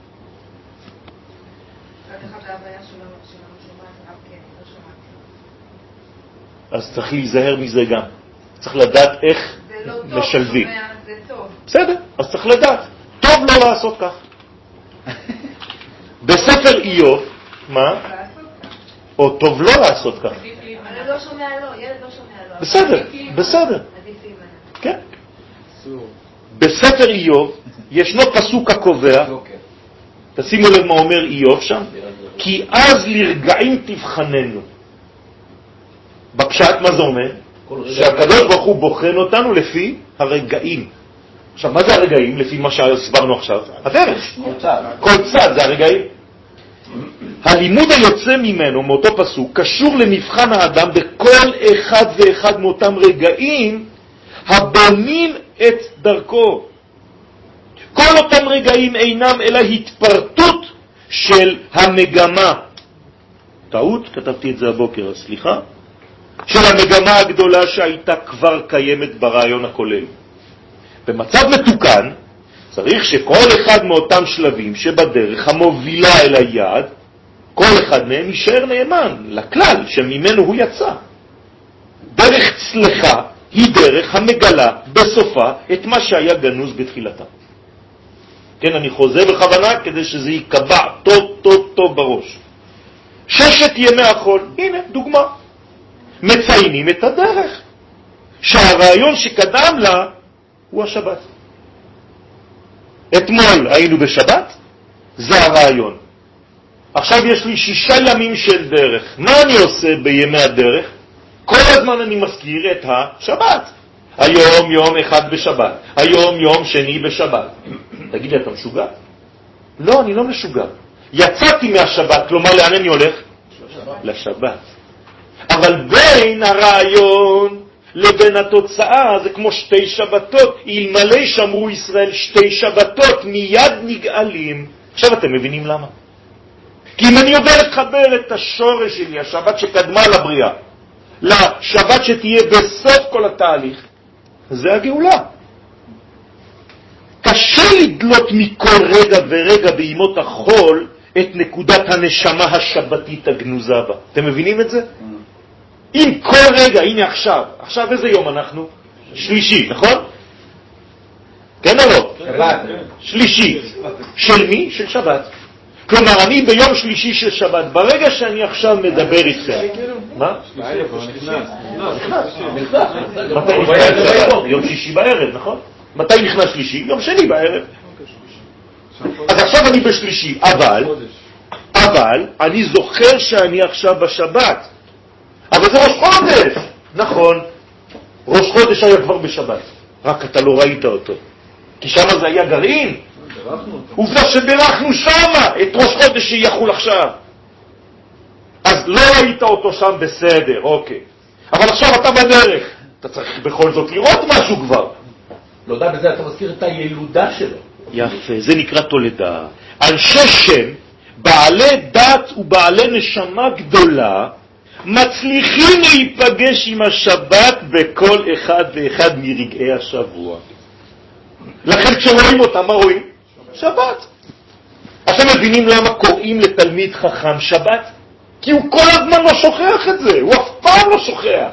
אז צריך להיזהר מזה גם. צריך לדעת איך משלבים. זה טוב. בסדר, אז צריך לדעת. טוב לא לעשות כך. בספר איוב, מה? או טוב לא לעשות כך. ילד לא שומע לו, ילד לא שומע לו. בסדר, בסדר. כן. בספר איוב ישנו פסוק הקובע, תשימו לב מה אומר איוב שם, כי אז לרגעים תבחננו. בפשט מה זה אומר? שהקדוש ברוך הוא בוחן אותנו לפי הרגעים. עכשיו, מה זה הרגעים? לפי מה שהסברנו עכשיו? הדרך. כל צד זה הרגעים. הלימוד היוצא ממנו, מאותו פסוק, קשור למבחן האדם בכל אחד ואחד מאותם רגעים הבונים את דרכו. כל אותם רגעים אינם אלא התפרטות של המגמה. טעות? כתבתי את זה הבוקר, סליחה. של המגמה הגדולה שהייתה כבר קיימת ברעיון הכולל. במצב מתוקן, צריך שכל אחד מאותם שלבים שבדרך המובילה אל היעד, כל אחד מהם יישאר נאמן לכלל שממנו הוא יצא. דרך צלחה היא דרך המגלה בסופה את מה שהיה גנוז בתחילתה. כן, אני חוזר בכוונה כדי שזה יקבע טוב טוב טוב בראש. ששת ימי החול, הנה דוגמה. מציינים את הדרך, שהרעיון שקדם לה הוא השבת. אתמול היינו בשבת, זה הרעיון. עכשיו יש לי שישה ימים של דרך. מה אני עושה בימי הדרך? כל הזמן אני מזכיר את השבת. היום יום אחד בשבת, היום יום שני בשבת. תגיד לי, אתה משוגע? לא, אני לא משוגע. יצאתי מהשבת, כלומר לאן אני הולך? לשבת. לשבת. אבל בין הרעיון לבין התוצאה זה כמו שתי שבתות. אלמלא שמרו ישראל שתי שבתות מיד נגאלים. עכשיו אתם מבינים למה? כי אם אני יודע לחבר את השורש שלי, השבת שקדמה לבריאה, לשבת שתהיה בסוף כל התהליך, זה הגאולה. קשה לדלות מכל רגע ורגע בימות החול את נקודת הנשמה השבתית הגנוזה בה. אתם מבינים את זה? אם כל רגע, הנה עכשיו, עכשיו איזה יום אנחנו? שלישי, נכון? כן או לא? שבת. שלישי. של מי? של שבת. כלומר, אני ביום שלישי של שבת, ברגע שאני עכשיו מדבר איתכם. מה? נכנס. נכנס. מתי נכנס? יום שישי בערב, נכון? מתי נכנס שלישי? יום שני בערב. אז עכשיו אני בשלישי, אבל, אבל, אני זוכר שאני עכשיו בשבת. אבל זה ראש חודש. נכון. ראש חודש היה כבר בשבת. רק אתה לא ראית אותו. כי שם זה היה גרעין. עובדה שבירכנו שם את ראש חודש שיחול עכשיו. אז לא ראית אותו שם בסדר, אוקיי. אבל עכשיו אתה בדרך. אתה צריך בכל זאת לראות משהו כבר. לא יודע, בזה אתה מזכיר את הילודה שלו. יפה, זה נקרא תולדה. אנשי שם, בעלי דת ובעלי נשמה גדולה, מצליחים להיפגש עם השבת בכל אחד ואחד מרגעי השבוע. לכן כשרואים אותם, מה רואים? שבת. אתם מבינים למה קוראים לתלמיד חכם שבת? כי הוא כל הזמן לא שוכח את זה, הוא אף פעם לא שוכח.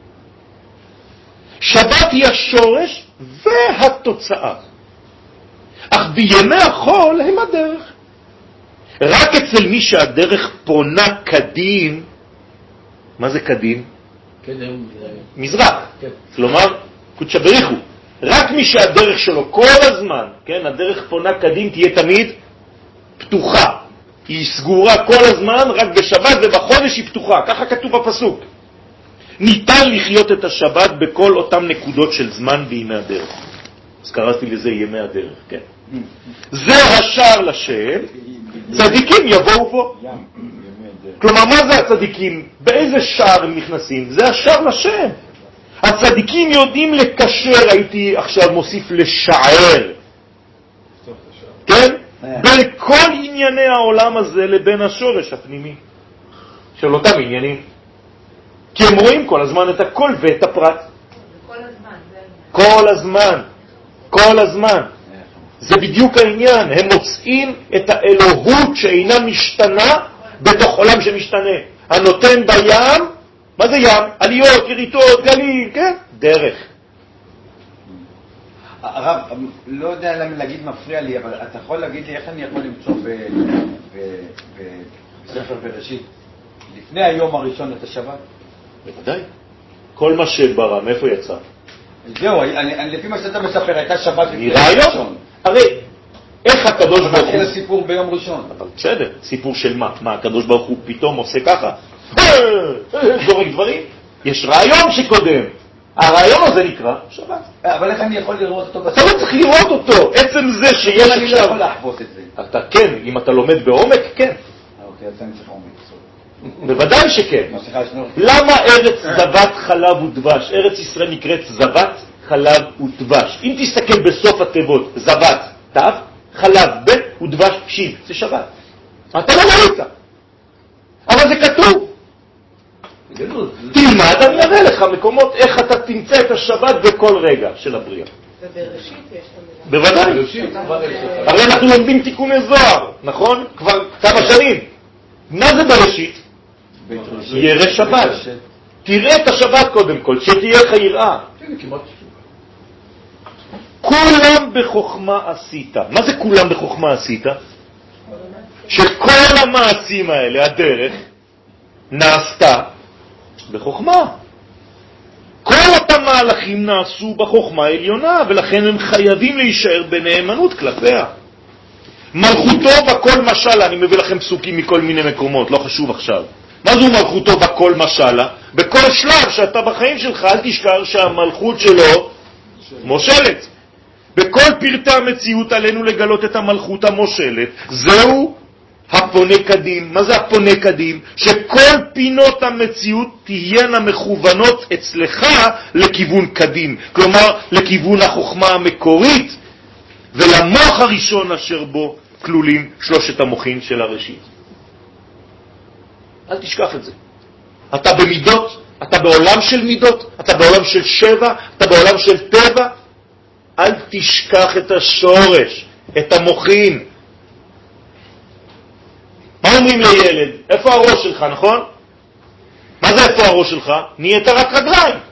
שבת היא השורש והתוצאה. אך בימי החול הם הדרך. רק אצל מי שהדרך פונה קדים, מה זה קדים? קדם. מזרח. כן. כלומר, קודשא בריך הוא. רק מי שהדרך שלו כל הזמן, כן, הדרך פונה קדים תהיה תמיד פתוחה. היא סגורה כל הזמן, רק בשבת ובחודש היא פתוחה. ככה כתוב בפסוק. ניתן לחיות את השבת בכל אותם נקודות של זמן בימי הדרך. אז קראתי לזה ימי הדרך, כן. זה השער לשם, צדיקים יבואו בו. כלומר, מה זה הצדיקים? באיזה שער הם נכנסים? זה השער לשם. הצדיקים יודעים לקשר, הייתי עכשיו מוסיף לשער, כן? בין כל ענייני העולם הזה לבין השורש הפנימי של אותם עניינים. כי הם רואים כל הזמן את הכל ואת הפרט. כל הזמן. כל הזמן. כל הזמן. זה בדיוק העניין. הם מוצאים את האלוהות שאינה משתנה בתוך עולם שמשתנה. הנותן בים, מה זה ים? עליות, יריטות, גלים, כן? דרך. הרב, לא יודע להגיד מפריע לי, אבל אתה יכול להגיד לי איך אני יכול למצוא בספר בראשית לפני היום הראשון את השבת? בוודאי. כל מה שברא, מאיפה יצא? זהו, לפי מה שאתה מספר, הייתה שבת לפני היום ראשון. הרי, איך הקדוש ברוך הוא... מתחיל הסיפור ביום ראשון. אבל בסדר, סיפור של מה? מה, הקדוש ברוך הוא פתאום עושה ככה? זורק דברים? יש רעיון שקודם. הרעיון הזה נקרא שבת. אבל איך אני יכול לראות אותו? אתה לא צריך לראות אותו. עצם זה שיש עכשיו... אני לא יכול להחוות את זה. אתה כן, אם אתה לומד בעומק, כן. אוקיי, אז אני צריך עומק. בוודאי שכן. למה ארץ זבת חלב ודבש? ארץ ישראל נקראת זבת חלב ודבש. אם תסתכל בסוף התיבות, זבת, תו, חלב, ב' ודבש, שין, זה שבת. אתה לא ראית. אבל זה כתוב. תלמד, אני אראה לך מקומות איך אתה תמצא את השבת בכל רגע של הבריאה. ובראשית יש את המילה. בוודאי. הרי אנחנו לומדים תיקוני זוהר, נכון? כבר כמה שנים. מה זה בראשית? ירא שבת. תראה את השבת קודם כל, שתהיה לך יראה. כולם בחוכמה עשית. מה זה כולם בחוכמה עשית? שכל המעשים האלה, הדרך, נעשתה בחוכמה. כל אותם מהלכים נעשו בחוכמה העליונה, ולכן הם חייבים להישאר בנאמנות כלפיה. מלכותו בכל משלה, אני מביא לכם פסוקים מכל מיני מקומות, לא חשוב עכשיו. מה זו מלכותו בכל משלה? בכל שלב שאתה בחיים שלך, אל תשכח שהמלכות שלו מושלת. בכל פרטי המציאות עלינו לגלות את המלכות המושלת. זהו הפונה קדים. מה זה הפונה קדים? שכל פינות המציאות תהיינה מכוונות אצלך לכיוון קדים. כלומר, לכיוון החוכמה המקורית, ולמוח הראשון אשר בו כלולים שלושת המוחים של הראשית. אל תשכח את זה. אתה במידות, אתה בעולם של מידות, אתה בעולם של שבע, אתה בעולם של טבע. אל תשכח את השורש, את המוחים. מה אומרים לילד? איפה הראש שלך, נכון? מה זה איפה הראש שלך? נהיית רק רגליים. למרות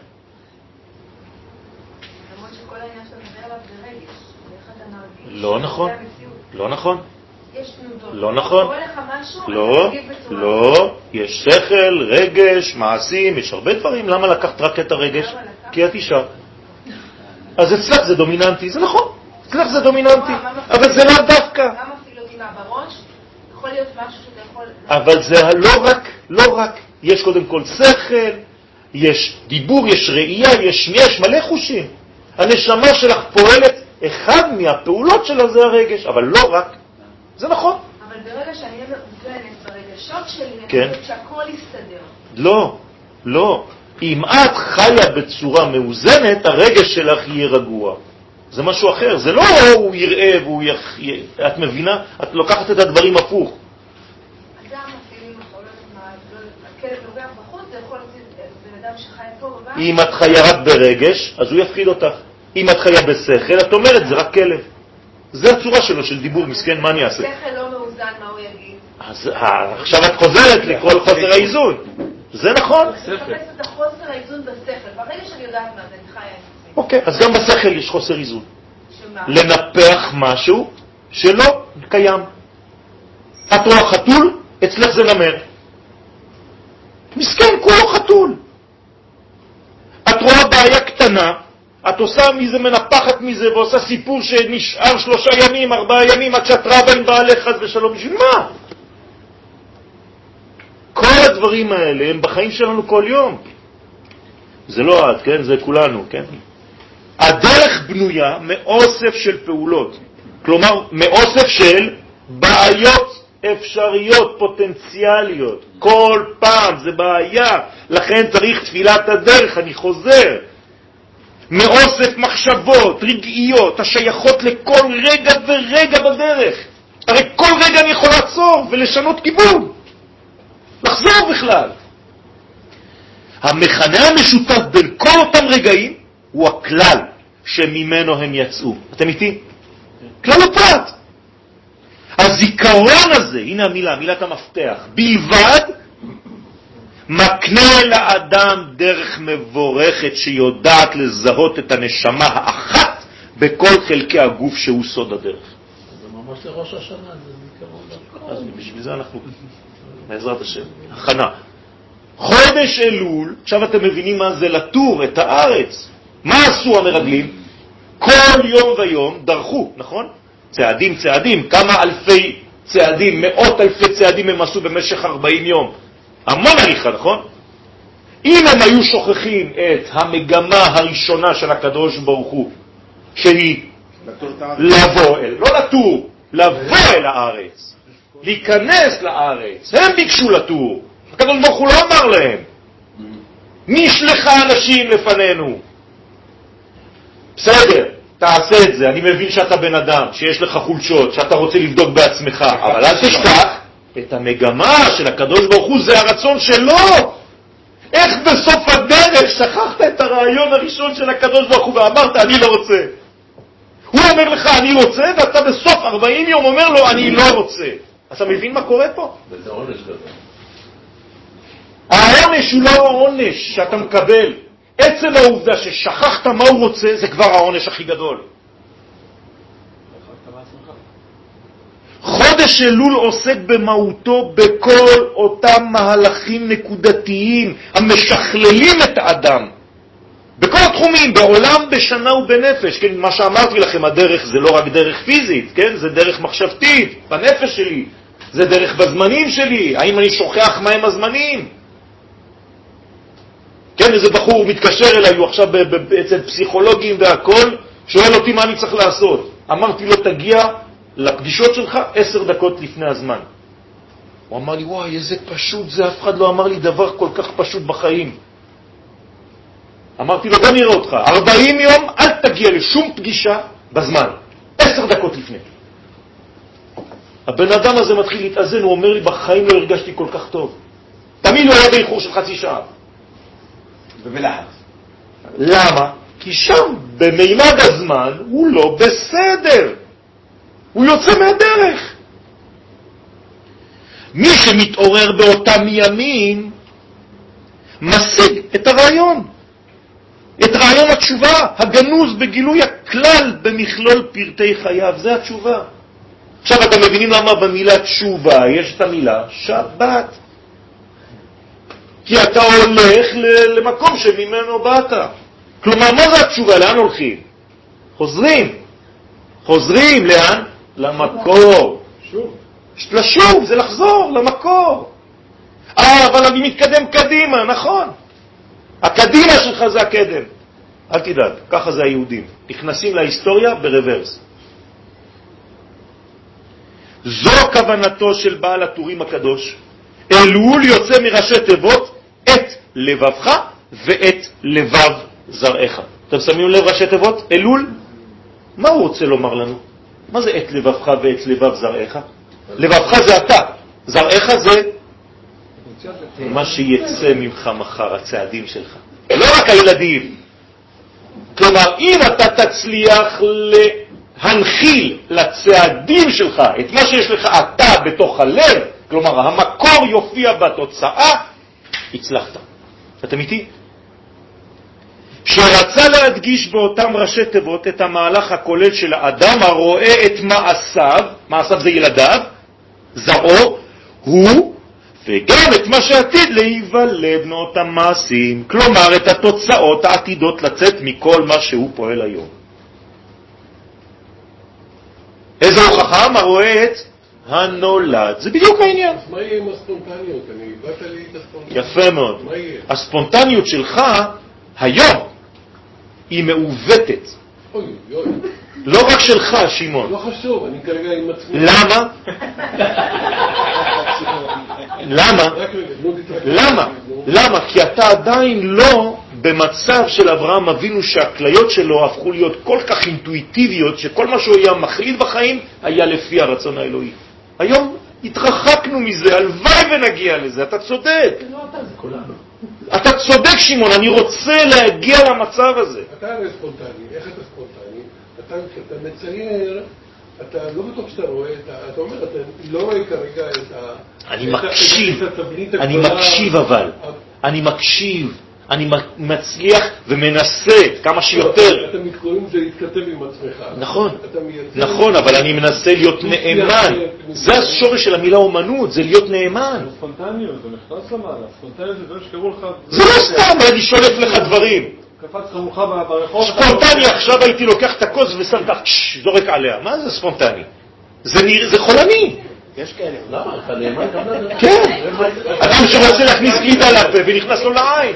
שכל העניין שאתה מדבר עליו זה רגש. ואיך אתה מרגיש? לא נכון. לא נכון. יש תנודות. לא נכון. קורא לך משהו, לא, לא. יש שכל, רגש, מעשים, יש הרבה דברים. למה לקחת רק את הרגש? כי את אישה. אז אצלך זה דומיננטי, זה נכון. אצלך זה דומיננטי. אבל זה לא דווקא. גם אפילו אותי מהבראש, יכול להיות משהו שאתה יכול... אבל זה לא רק, לא רק. יש קודם כל שכל, יש דיבור, יש ראייה, יש יש מלא חושים. הנשמה שלך פועלת, אחד מהפעולות שלה זה הרגש, אבל לא רק. זה נכון. אבל ברגע שאני אהיה מאוזנת ברגשות שלי, כן. אני חושבת שהכל יסתדר. לא, לא. אם את חיה בצורה מאוזנת, הרגש שלך יהיה רגוע. זה משהו אחר. זה לא הוא יראה והוא יח... את מבינה? את לוקחת את הדברים הפוך. אדם אפילו יכול להיות, הכלב נוגח בחוץ, זה יכול להיות בן אדם שחי פה בבית. אם את חיה רק ברגש, אז הוא יפחיד אותך. אם את חיה בשכל, את אומרת, זה רק כלב. זה הצורה שלו של דיבור, מסכן, מה אני אעשה? שכל לא מאוזן, מה הוא יגיד? אז עכשיו את חוזרת לכל חוסר האיזון. זה נכון. אני מחפשת את החוסר האיזון בשכל. ברגע שאני יודעת מה זה, אני חיה את זה. אוקיי, אז גם בשכל יש חוסר איזון. שמה? לנפח משהו שלא קיים. את רואה חתול, אצלך זה נמר. מסכן, כולו חתול. את רואה בעיה קטנה, את עושה מזה, מנפחת מזה, ועושה סיפור שנשאר שלושה ימים, ארבעה ימים, עד שאת רבה עם בעלך חס ושלום. בשביל מה? כל הדברים האלה הם בחיים שלנו כל יום. זה לא עד, כן? זה כולנו, כן? הדרך בנויה מאוסף של פעולות. כלומר, מאוסף של בעיות אפשריות, פוטנציאליות. כל פעם זה בעיה. לכן צריך תפילת הדרך, אני חוזר. מאוסף מחשבות, רגעיות, השייכות לכל רגע ורגע בדרך. הרי כל רגע אני יכול לעצור ולשנות כיוון. לחזור בכלל. המכנה המשותף בין כל אותם רגעים הוא הכלל שממנו הם יצאו. אתם איתי? כלל הפרט. הזיכרון הזה, הנה המילה, מילת המפתח, בלבד מקנה לאדם דרך מבורכת שיודעת לזהות את הנשמה האחת בכל חלקי הגוף שהוא סוד הדרך. זה ממש לראש השנה, זה זיכרון. אז בשביל זה אנחנו, בעזרת השם, הכנה. חודש אלול, עכשיו אתם מבינים מה זה לטור את הארץ. מה עשו המרגלים? כל יום ויום דרכו, נכון? צעדים, צעדים, כמה אלפי צעדים, מאות אלפי צעדים הם עשו במשך ארבעים יום. המון הליכה, נכון? אם הם היו שוכחים את המגמה הראשונה של הקדוש ברוך הוא, שהיא לבוא אל, לא לטור, לבוא אל הארץ, להיכנס לארץ, הם ביקשו לטור. הקדוש ברוך הוא לא אמר להם, מי שלך אנשים לפנינו? בסדר, תעשה את זה, אני מבין שאתה בן אדם, שיש לך חולשות, שאתה רוצה לבדוק בעצמך, אבל אל תשכח את המגמה של הקדוש ברוך הוא, זה הרצון שלו. איך בסוף הדרך שכחת את הרעיון הראשון של הקדוש ברוך הוא ואמרת אני לא רוצה? הוא אומר לך אני רוצה, ואתה בסוף ארבעים יום אומר לו אני לא רוצה. אתה מבין מה קורה פה? וזה עונש גדול. העונש הוא לא העונש שאתה מקבל. עצם העובדה ששכחת מה הוא רוצה, זה כבר העונש הכי גדול. חודש אלול עוסק במהותו בכל אותם מהלכים נקודתיים המשכללים את האדם. בכל התחומים, בעולם, בשנה ובנפש. כן, מה שאמרתי לכם, הדרך זה לא רק דרך פיזית, כן? זה דרך מחשבתית, בנפש שלי. זה דרך בזמנים שלי. האם אני שוכח מהם הזמנים? כן, איזה בחור מתקשר אליי, הוא עכשיו אצל פסיכולוגים והכל, שואל אותי מה אני צריך לעשות. אמרתי לו, תגיע לפגישות שלך עשר דקות לפני הזמן. הוא אמר לי, וואי, איזה פשוט זה, אף אחד לא אמר לי דבר כל כך פשוט בחיים. אמרתי לו, בוא נראה אותך, ארבעים יום אל תגיע לשום פגישה בזמן, עשר דקות לפני. הבן אדם הזה מתחיל להתאזן, הוא אומר לי, בחיים לא הרגשתי כל כך טוב. תמיד הוא היה באיחור של חצי שעה. ובלחץ. למה? כי שם, במימד הזמן, הוא לא בסדר. הוא יוצא מהדרך. מי שמתעורר באותם ימים, משיג את הרעיון. את רעיון התשובה, הגנוז בגילוי הכלל במכלול פרטי חייו. זה התשובה. עכשיו אתם מבינים למה במילה תשובה יש את המילה שבת. כי אתה הולך למקום שממנו באת. כלומר, מה זה התשובה? לאן הולכים? חוזרים. חוזרים לאן? למקור. שוב. לשוב, זה לחזור למקור. אה, אבל אני מתקדם קדימה, נכון. הקדימה שלך זה הקדם. אל תדאג, ככה זה היהודים. נכנסים להיסטוריה ברוורס. זו כוונתו של בעל הטורים הקדוש. אלול יוצא מראשי תיבות את לבבך ואת לבב זרעך. אתם שמים לב ראשי תיבות? אלול? מה הוא רוצה לומר לנו? מה זה את לבבך ואת לבב זרעך? לבבך זה אתה, זרעך זה מה שיצא ממך מחר, הצעדים שלך. לא רק הילדים. כלומר, אם אתה תצליח להנחיל לצעדים שלך את מה שיש לך אתה בתוך הלב, כלומר, המקור יופיע בתוצאה, הצלחת. אתם איתי? שרצה להדגיש באותם ראשי תיבות את המהלך הכולל של האדם הרואה את מעשיו, מעשיו זה ילדיו, זרעו, הוא וגם את מה שעתיד להיוולד מאותם מעשים, כלומר את התוצאות העתידות לצאת מכל מה שהוא פועל היום. איזה הוכחה? מה רואה את הנולד. זה בדיוק העניין. אז מה יהיה עם הספונטניות? אני באת לי את הספונטניות. יפה מאוד. מה יהיה? הספונטניות שלך היום היא מעוותת. אוי, אוי. לא רק שלך, שמעון. לא חשוב, אני כרגע עם עצמי. למה? למה? למה? למה? כי אתה עדיין לא במצב של אברהם אבינו שהכליות שלו הפכו להיות כל כך אינטואיטיביות שכל מה שהוא היה מחליט בחיים היה לפי הרצון האלוהי. היום התרחקנו מזה, הלוואי ונגיע לזה, אתה צודק. לא אתה, זה כולנו. אתה צודק שמעון, אני רוצה להגיע למצב הזה. אתה הרי ספונטני, איך אתה ספונטני? אתה, כשאתה מצייר, אתה לא בטוח שאתה רואה, אתה, אתה אומר, אתה לא רואה כרגע את ה... אני מקשיב, אני מקשיב אבל, אני מקשיב, אני מצליח ומנסה כמה שיותר. אתה מתקוראים זה להתכתב עם עצמך. נכון, נכון, אבל אני מנסה להיות נאמן. זה השורש של המילה אומנות, זה להיות נאמן. ספונטניות, זה נכנס למעלה, ספונטניות זה דבר שקראו לך... זה לא סתם, אני שולף לך דברים. קפץ חמוך ברחוב... ספונטני, עכשיו הייתי לוקח את הכוס ושם לך, זורק עליה. מה זה ספונטני? זה חולני. יש כאלה, למה? אתה נאמן גם לזה? כן. אדם שרוצה להכניס גלידה לפה ונכנס לו לעין.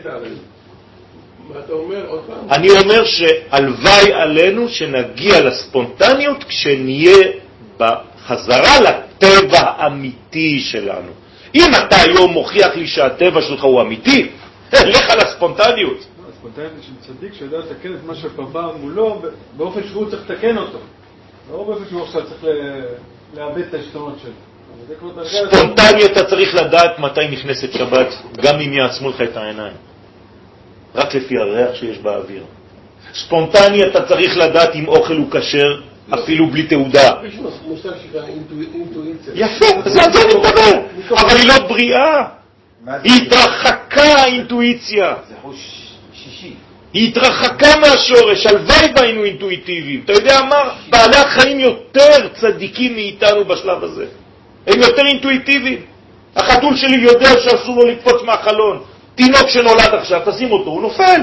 מה אתה אומר עוד פעם? אני אומר שהלוואי עלינו שנגיע לספונטניות כשנהיה בחזרה לטבע האמיתי שלנו. אם אתה היום מוכיח לי שהטבע שלך הוא אמיתי, לך לספונטניות. הספונטניות של צדיק שיודע לתקן את מה שפבע מולו באופן שהוא צריך לתקן אותו. לא באופן שהוא עכשיו צריך לאבד את השתונות שלו. ספונטניות אתה צריך לדעת מתי נכנסת שבת, גם אם יעצמו לך את העיניים. רק לפי הריח שיש באוויר. ספונטני אתה צריך לדעת אם אוכל הוא כשר, אפילו בלי תעודה. יש מושג שנקרא אינטואיציה. יפה, זה על זה אני מדבר. אבל היא לא בריאה. היא התרחקה האינטואיציה. זה חוש שישי. היא התרחקה מהשורש, הלוואי והיינו אינטואיטיביים. אתה יודע מה? בעלי החיים יותר צדיקים מאיתנו בשלב הזה. הם יותר אינטואיטיביים. החתול שלי יודע שאסור לו לקפוץ מהחלון. תינוק שנולד עכשיו, תשים אותו, הוא נופל.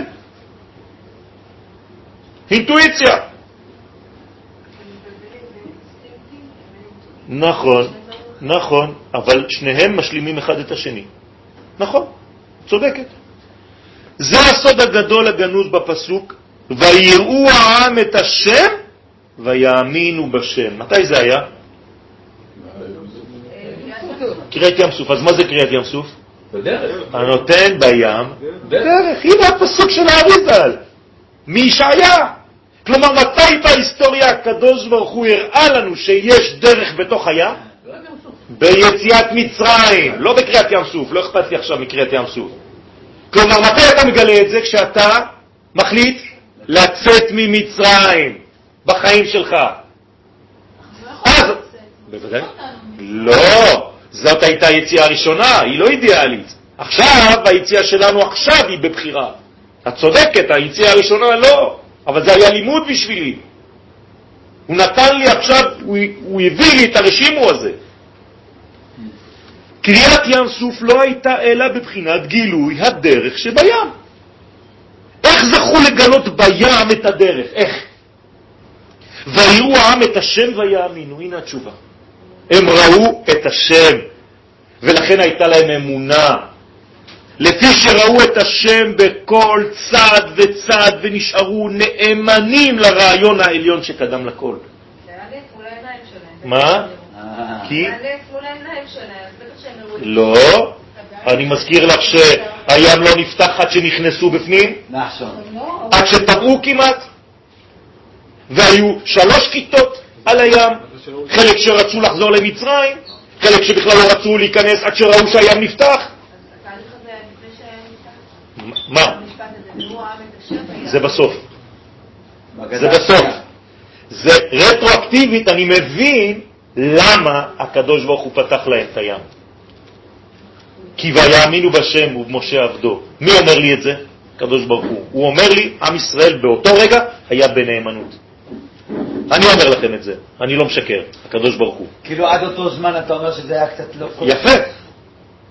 אינטואיציה. נכון, נכון, אבל שניהם משלימים אחד את השני. נכון, צודקת. זה הסוד הגדול הגנוז בפסוק, ויראו העם את השם ויאמינו בשם. מתי זה היה? קריאת ים סוף. אז מה זה קריאת ים סוף? בדרך. הנותן בים דרך. הנה הפסוק של האריז"ל מישעיה. כלומר, מתי בהיסטוריה הקדוש ברוך הוא הראה לנו שיש דרך בתוך הים? ביציאת מצרים, לא בקריאת ים סוף. לא אכפת לי עכשיו מקריאת ים סוף. כלומר, מתי אתה מגלה את זה? כשאתה מחליט לצאת ממצרים בחיים שלך. אז בוודאי לא, זאת הייתה היציאה הראשונה, היא לא אידיאלית. עכשיו היציאה שלנו עכשיו היא בבחירה. את צודקת, היציאה הראשונה לא, אבל זה היה לימוד בשבילי. הוא נתן לי עכשיו, הוא, הוא הביא לי את הרשימו הזה. קריאת ים סוף לא הייתה אלא בבחינת גילוי הדרך שבים. איך זכו לגלות בים את הדרך? איך? ויראו העם את השם ויאמינו. הנה התשובה. הם ראו את השם, ולכן הייתה להם אמונה. לפי שראו את השם בכל צד וצד ונשארו נאמנים לרעיון העליון שקדם לכל. זה היה נס מול העיניים שלהם. מה? כי? זה היה נס מול העיניים שלהם, אז בטח שהם ראו. לא. אני מזכיר לך שהים לא נפתח עד שנכנסו בפנים, נכון. עד שטבעו כמעט, והיו שלוש כיתות על הים, חלק שרצו לחזור למצרים, חלק שבכלל לא רצו להיכנס עד שראו שהים נפתח. התהליך הזה היה לפני שהיה נפתח. מה? המשפט הזה, והוא העם את השם. זה בסוף. זה בסוף. זה רטרואקטיבית, אני מבין למה הקדוש ברוך הוא פתח להם את הים. כי ויאמינו בשם ובמשה עבדו. מי אומר לי את זה? הקדוש ברוך הוא. הוא אומר לי, עם ישראל באותו רגע היה בנאמנות. אני אומר לכם את זה, אני לא משקר, הקדוש ברוך הוא. כאילו עד אותו זמן אתה אומר שזה היה קצת לא... יפה.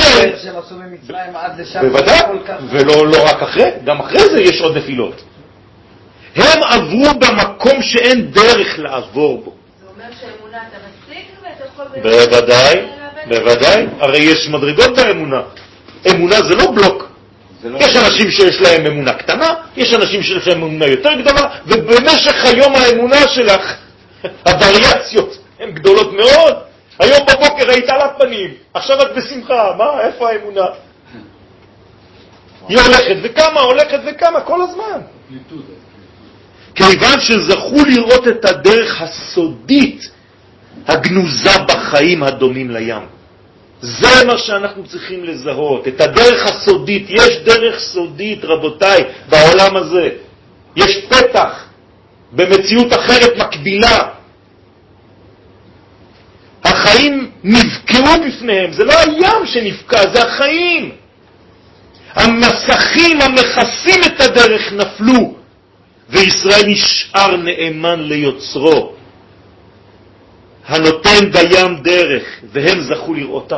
לכן, שהם עשו ממצרים עד לשם. בוודאי, ולא לא רק אחרי, גם אחרי זה יש עוד נפילות. הם עברו במקום שאין דרך לעבור בו. זה אומר שהאמונה אתה משיג ואתה יכול... בוודאי, בוודאי, הרי יש מדרגות באמונה. אמונה זה לא בלוק. יש אנשים שיש להם אמונה קטנה, יש אנשים שיש להם אמונה יותר גדולה, ובמשך היום האמונה שלך, הווריאציות הן גדולות מאוד. היום בבוקר היית על הפנים, עכשיו את בשמחה, מה, איפה האמונה? היא הולכת וכמה, הולכת וכמה, כל הזמן. כיוון שזכו לראות את הדרך הסודית, הגנוזה בחיים הדומים לים. זה מה שאנחנו צריכים לזהות, את הדרך הסודית. יש דרך סודית, רבותיי, בעולם הזה. יש פתח במציאות אחרת מקבילה. החיים נבקעו בפניהם, זה לא הים שנבקע, זה החיים. המסכים המכסים את הדרך נפלו, וישראל נשאר נאמן ליוצרו, הנותן בים דרך, והם זכו לראותה.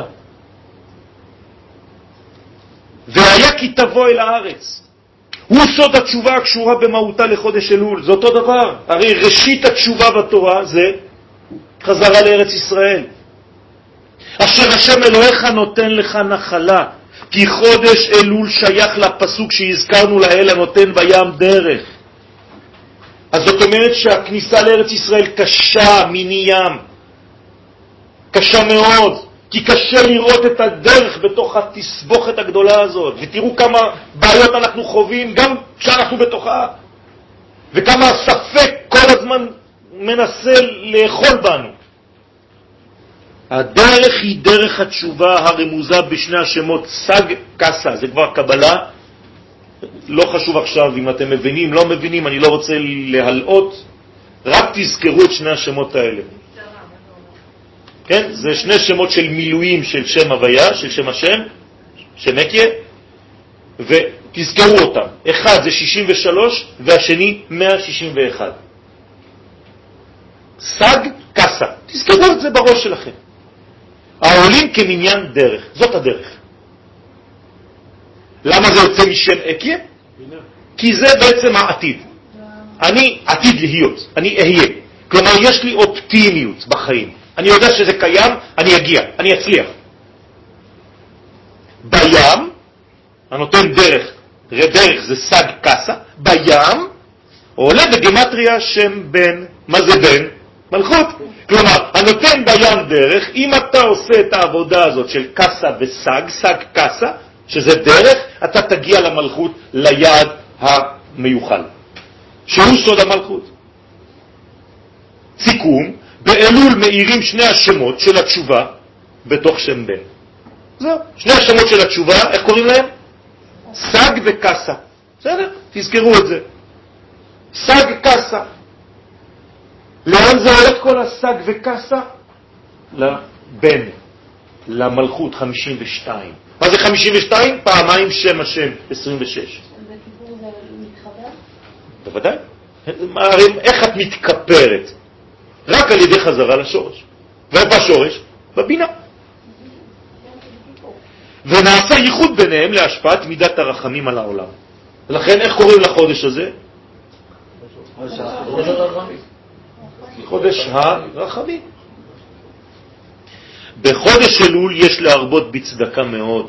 והיה כי תבוא אל הארץ. הוא סוד התשובה הקשורה במהותה לחודש אלול. זה אותו דבר. הרי ראשית התשובה בתורה זה חזרה לארץ ישראל. אשר השם אלוהיך נותן לך נחלה, כי חודש אלול שייך לפסוק שהזכרנו לאל הנותן בים דרך. אז זאת אומרת שהכניסה לארץ ישראל קשה מיני ים. קשה מאוד, כי קשה לראות את הדרך בתוך התסבוכת הגדולה הזאת. ותראו כמה בעיות אנחנו חווים גם כשאנחנו בתוכה. וכמה הספק כל הזמן מנסה לאכול בנו. הדרך היא דרך התשובה הרמוזה בשני השמות סג קסה. זה כבר קבלה. לא חשוב עכשיו אם אתם מבינים, לא מבינים, אני לא רוצה להלאות. רק תזכרו את שני השמות האלה. כן? זה שני שמות של מילואים של שם הוויה, של שם השם, שם אקיה, ותזכרו אותם. אחד זה שישים ושלוש והשני מאה שישים ואחת. סג קסה. תזכרו את זה בראש שלכם. העולים כמניין דרך. זאת הדרך. למה זה יוצא משם אקיה? כי זה בעצם העתיד. אני עתיד להיות. אני אהיה. כלומר, יש לי אופטימיות בחיים. אני יודע שזה קיים, אני אגיע, אני אצליח. בים, הנותן דרך, דרך זה סג קסה, בים עולה בגמטריה שם בן. מה זה בן? מלכות. כלומר, הנותן בים דרך, אם אתה עושה את העבודה הזאת של קסה וסג, סג קסה, שזה דרך, אתה תגיע למלכות, ליעד המיוחל, שהוא סוד המלכות. סיכום, באלול מאירים שני השמות של התשובה בתוך שם בן. זהו, שני השמות של התשובה, איך קוראים להם? סג וקסה. בסדר? תזכרו את זה. סג קסה. לאן זה הולך כל הסג וקסה? לבן, למלכות חמישים ושתיים. מה זה חמישים ושתיים? פעמיים שם השם, עשרים ושש. בקיפור זה מתחבר? בוודאי. איך את מתכפרת? רק על ידי חזרה לשורש. ואיפה השורש? בבינה. ונעשה ייחוד ביניהם להשפעת מידת הרחמים על העולם. לכן איך קוראים לחודש הזה? חודש הרחמים. בחודש אלול יש להרבות בצדקה מאוד,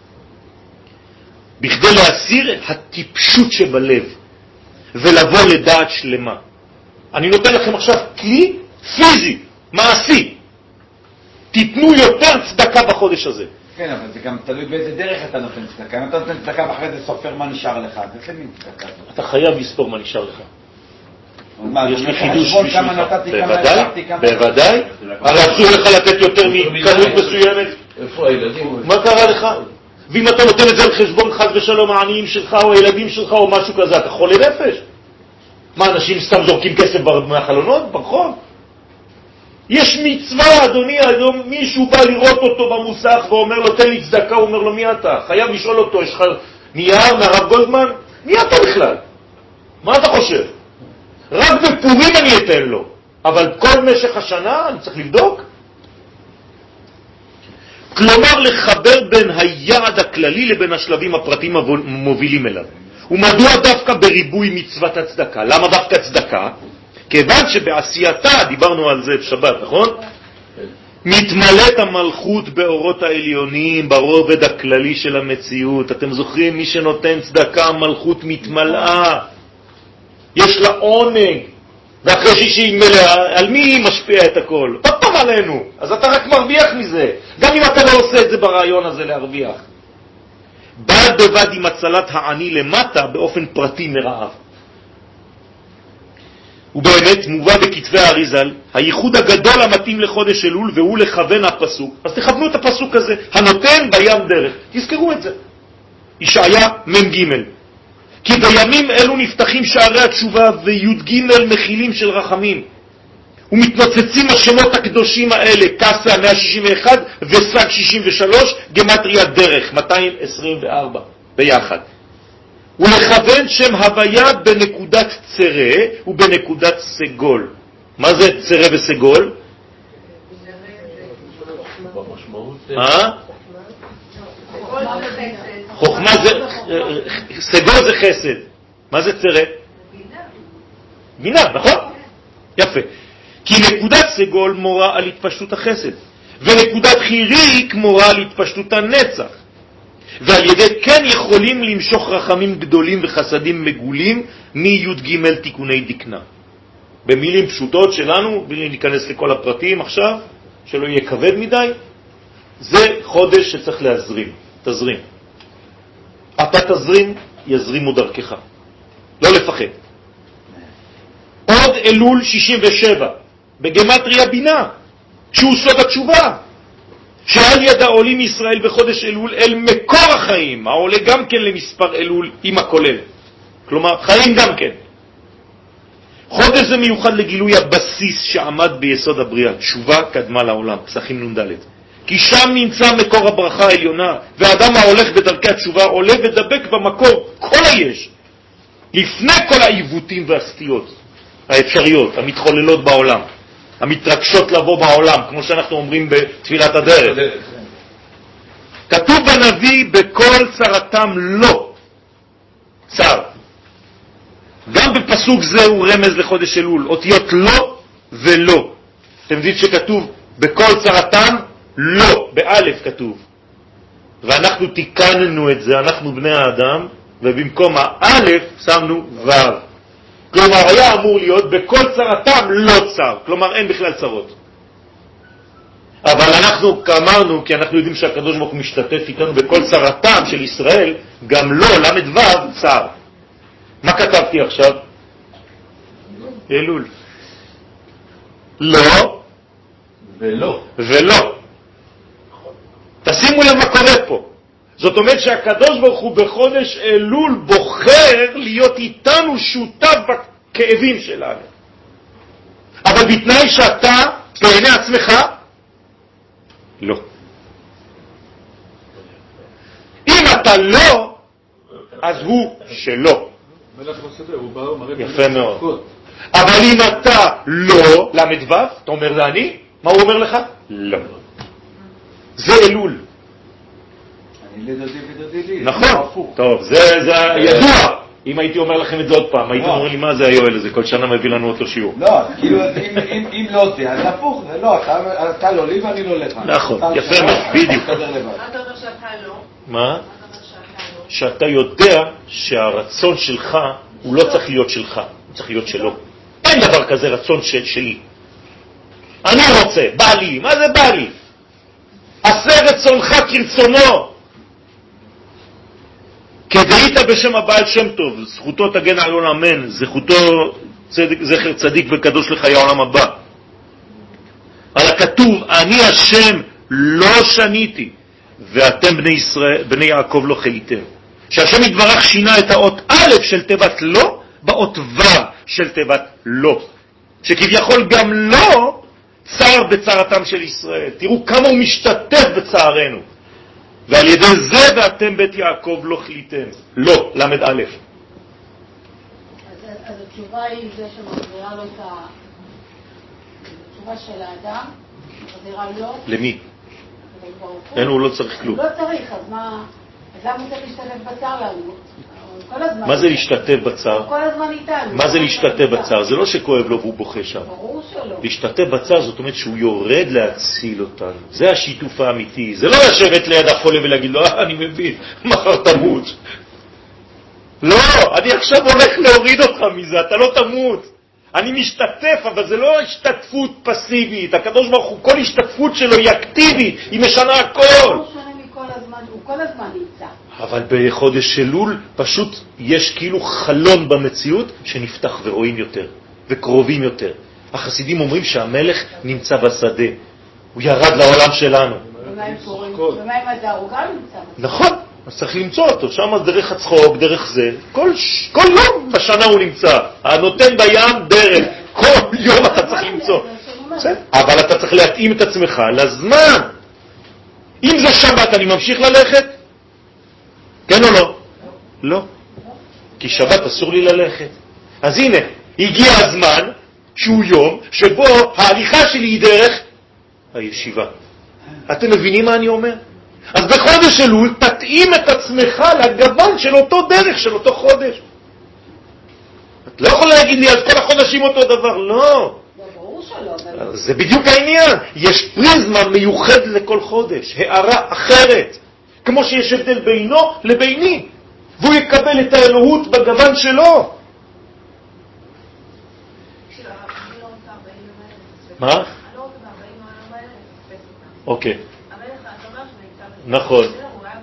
בכדי להסיר הטיפשות שבלב ולבוא לדעת שלמה. אני נותן לכם עכשיו כלי פיזי, מעשי. תיתנו יותר צדקה בחודש הזה. כן, אבל זה גם תלוי באיזה דרך אתה נותן צדקה. אם אתה נותן צדקה ואחרי זה סופר מה נשאר לך, זה איזה מין צדקה. אתה חייב לספור מה נשאר לך. יש לי חידוש בשבילך. בוודאי, בוודאי. הרי אסור לך לתת יותר מכמות מסוימת. איפה הילדים? מה קרה לך? ואם אתה נותן את זה על חשבון חס ושלום העניים שלך או הילדים שלך או משהו כזה, אתה חולה נפש. מה, אנשים סתם זורקים כסף מהחלונות, ברחוב? יש מצווה, אדוני, היום מישהו בא לראות אותו במוסך ואומר לו, תן לי צדקה, הוא אומר לו, מי אתה? חייב לשאול אותו, יש לך נייר מהרב גולדמן? מי אתה בכלל? מה אתה חושב? רק בפורים אני אתן לו, אבל כל משך השנה אני צריך לבדוק. כלומר לחבר בין היעד הכללי לבין השלבים הפרטיים המובילים אליו. ומדוע דווקא בריבוי מצוות הצדקה? למה דווקא צדקה? כיוון שבעשייתה, דיברנו על זה בשבת, נכון? מתמלאת המלכות באורות העליונים, ברובד הכללי של המציאות. אתם זוכרים, מי שנותן צדקה, המלכות מתמלאה. יש לה עונג. ואחרי שהיא מלאה, על מי היא משפיעה את הכל? עוד פעם עלינו. אז אתה רק מרוויח מזה. גם אם אתה לא עושה את זה ברעיון הזה להרוויח. בד בבד עם הצלת העני למטה באופן פרטי מרעב. ובאמת מובא בכתבי האריזל הייחוד הגדול המתאים לחודש אלול, והוא לכוון הפסוק. אז תכוונו את הפסוק הזה, הנותן בים דרך. תזכרו את זה. ישעיה מ"ג. כי בימים אלו נפתחים שערי התשובה וי"ג מכילים של רחמים. ומתנוצצים השמות הקדושים האלה, קסה מאה שישים ואחת וסג שישים ושלוש, גמטריה דרך מאתיים עשרים וארבע ביחד. ולכוון שם הוויה בנקודת צרה ובנקודת סגול. מה זה צרה וסגול? אה? חוכמה זה, סגול זה חסד. מה זה צרה? בינה, נכון? יפה. כי נקודת סגול מורה על התפשטות החסד, ונקודת חיריק מורה על התפשטות הנצח. ועל ידי כן יכולים למשוך רחמים גדולים וחסדים מגולים מי"ג תיקוני דקנה. במילים פשוטות שלנו, בלי להיכנס לכל הפרטים עכשיו, שלא יהיה כבד מדי, זה חודש שצריך להזרים, תזרים. אתה תזרים, יזרימו דרכך. לא לפחד. עוד אלול שישים ושבע, בגמטריה בינה, שהוא סוד התשובה. שעל יד העולים ישראל בחודש אלול אל מקור החיים, העולה גם כן למספר אלול עם הכולל. כלומר, חיים גם כן. חודש זה מיוחד לגילוי הבסיס שעמד ביסוד הבריאה. תשובה קדמה לעולם, פסחים נ"ד. כי שם נמצא מקור הברכה העליונה, והאדם ההולך בדרכי התשובה עולה ודבק במקור כל היש, לפני כל העיוותים והסטיות האפשריות, המתחוללות בעולם. המתרגשות לבוא בעולם, כמו שאנחנו אומרים בתפילת הדרך. כתוב בנביא, בכל צרתם לא צר. גם בפסוק זה הוא רמז לחודש אלול, אותיות לא ולא. אתם יודעים שכתוב בכל צרתם לא, באלף כתוב. ואנחנו תיקננו את זה, אנחנו בני האדם, ובמקום האלף שמנו וו. כלומר, היה אמור להיות בכל צרתם לא צר. כלומר, אין בכלל צרות. אבל אנחנו אמרנו, כי אנחנו יודעים שהקדוש ברוך הוא משתתף איתנו בכל צרתם של ישראל, גם לא, למד וו, צר. מה כתבתי עכשיו? אלול. לא ולא. ולא. תשימו לב מה קורה פה. זאת אומרת שהקדוש ברוך הוא בחודש אלול בוחר להיות איתנו שותף בכאבים שלנו. אבל בתנאי שאתה בעיני עצמך לא. אם אתה לא, אז הוא שלא. יפה מאוד. אבל אם אתה לא, למד וו, אתה אומר זה אני, מה הוא אומר לך? לא. זה אלול. נכון, טוב, זה ידוע. אם הייתי אומר לכם את זה עוד פעם, הייתי אומר לי מה זה היואל הזה, כל שנה מביא לנו אותו שיעור. לא, כאילו אם לא זה, אז הפוך, זה לא, אתה לא לי ואני לא לך. נכון, יפה מאוד, בדיוק. מה אתה אומר שאתה לא? מה? שאתה יודע שהרצון שלך הוא לא צריך להיות שלך, הוא צריך להיות שלו. אין דבר כזה רצון שלי. אני רוצה, בא לי, מה זה בא לי? עשה רצונך כרצונו. כדאית בשם הבעל שם טוב, זכותו תגן על עולם, אמן, זכותו צדק, זכר צדיק וקדוש לחיי העולם הבא. על הכתוב, אני השם לא שניתי, ואתם בני ישראל, בני יעקב לא חליתם. שהשם יתברך שינה את האות א' של תיבת לא, באות ו' של תיבת לא. שכביכול גם לא צער בצערתם של ישראל. תראו כמה הוא משתתף בצערנו. ועל ידי זה ואתם בית יעקב לא חליתם. לא, למד א'. אז התשובה היא זה שמחזירה לו את התשובה של האדם, מחזירה לו. למי? לקדוש ברוך הוא. אין, הוא לא צריך כלום. לא צריך, אז מה... אז למה הוא צריך להשתתף בצער לנו? כל הזמן. מה זה להשתתף בצער? כל הזמן איתנו. מה זה להשתתף בצער? זה לא שכואב לו והוא בוכה שם. ברור שלא. להשתתף בצער זאת אומרת שהוא יורד להציל אותנו. זה השיתוף האמיתי. זה לא לשבת ליד החולה ולהגיד לו, אה, אני מבין, מחר תמות. לא, אני עכשיו הולך להוריד אותך מזה, אתה לא תמות. אני משתתף, אבל זה לא השתתפות פסיבית. הקדוש ברוך הוא, כל השתתפות שלו היא אקטיבית, היא משנה הכל. הוא שונה מכל הזמן, הוא כל הזמן נמצא. אבל בחודש אלול פשוט יש כאילו חלון במציאות שנפתח ורואים יותר וקרובים יותר. החסידים אומרים שהמלך נמצא בשדה, הוא ירד לעולם שלנו. ומה עם פורים? ומה עם הדר? הוא גם נמצא בשדה. נכון, אז צריך למצוא אותו, שם דרך הצחוק, דרך זה, כל, כל יום בשנה הוא נמצא, הנותן בים דרך, כל יום אתה צריך למצוא. אבל אתה צריך להתאים את עצמך לזמן. אם זה שבת אני ממשיך ללכת? כן או לא? לא. כי שבת אסור לי ללכת. אז הנה, הגיע הזמן שהוא יום שבו ההליכה שלי היא דרך הישיבה. אתם מבינים מה אני אומר? אז בחודש אלול תתאים את עצמך לגוון של אותו דרך, של אותו חודש. את לא יכולה להגיד לי, אז כל החודשים אותו דבר. לא. ברור שלא. זה בדיוק העניין. יש פריזמה מיוחד לכל חודש, הערה אחרת. כמו שיש הבדל בינו לביני, והוא יקבל את האלוהות בגוון שלו. מה? אוקיי. נכון.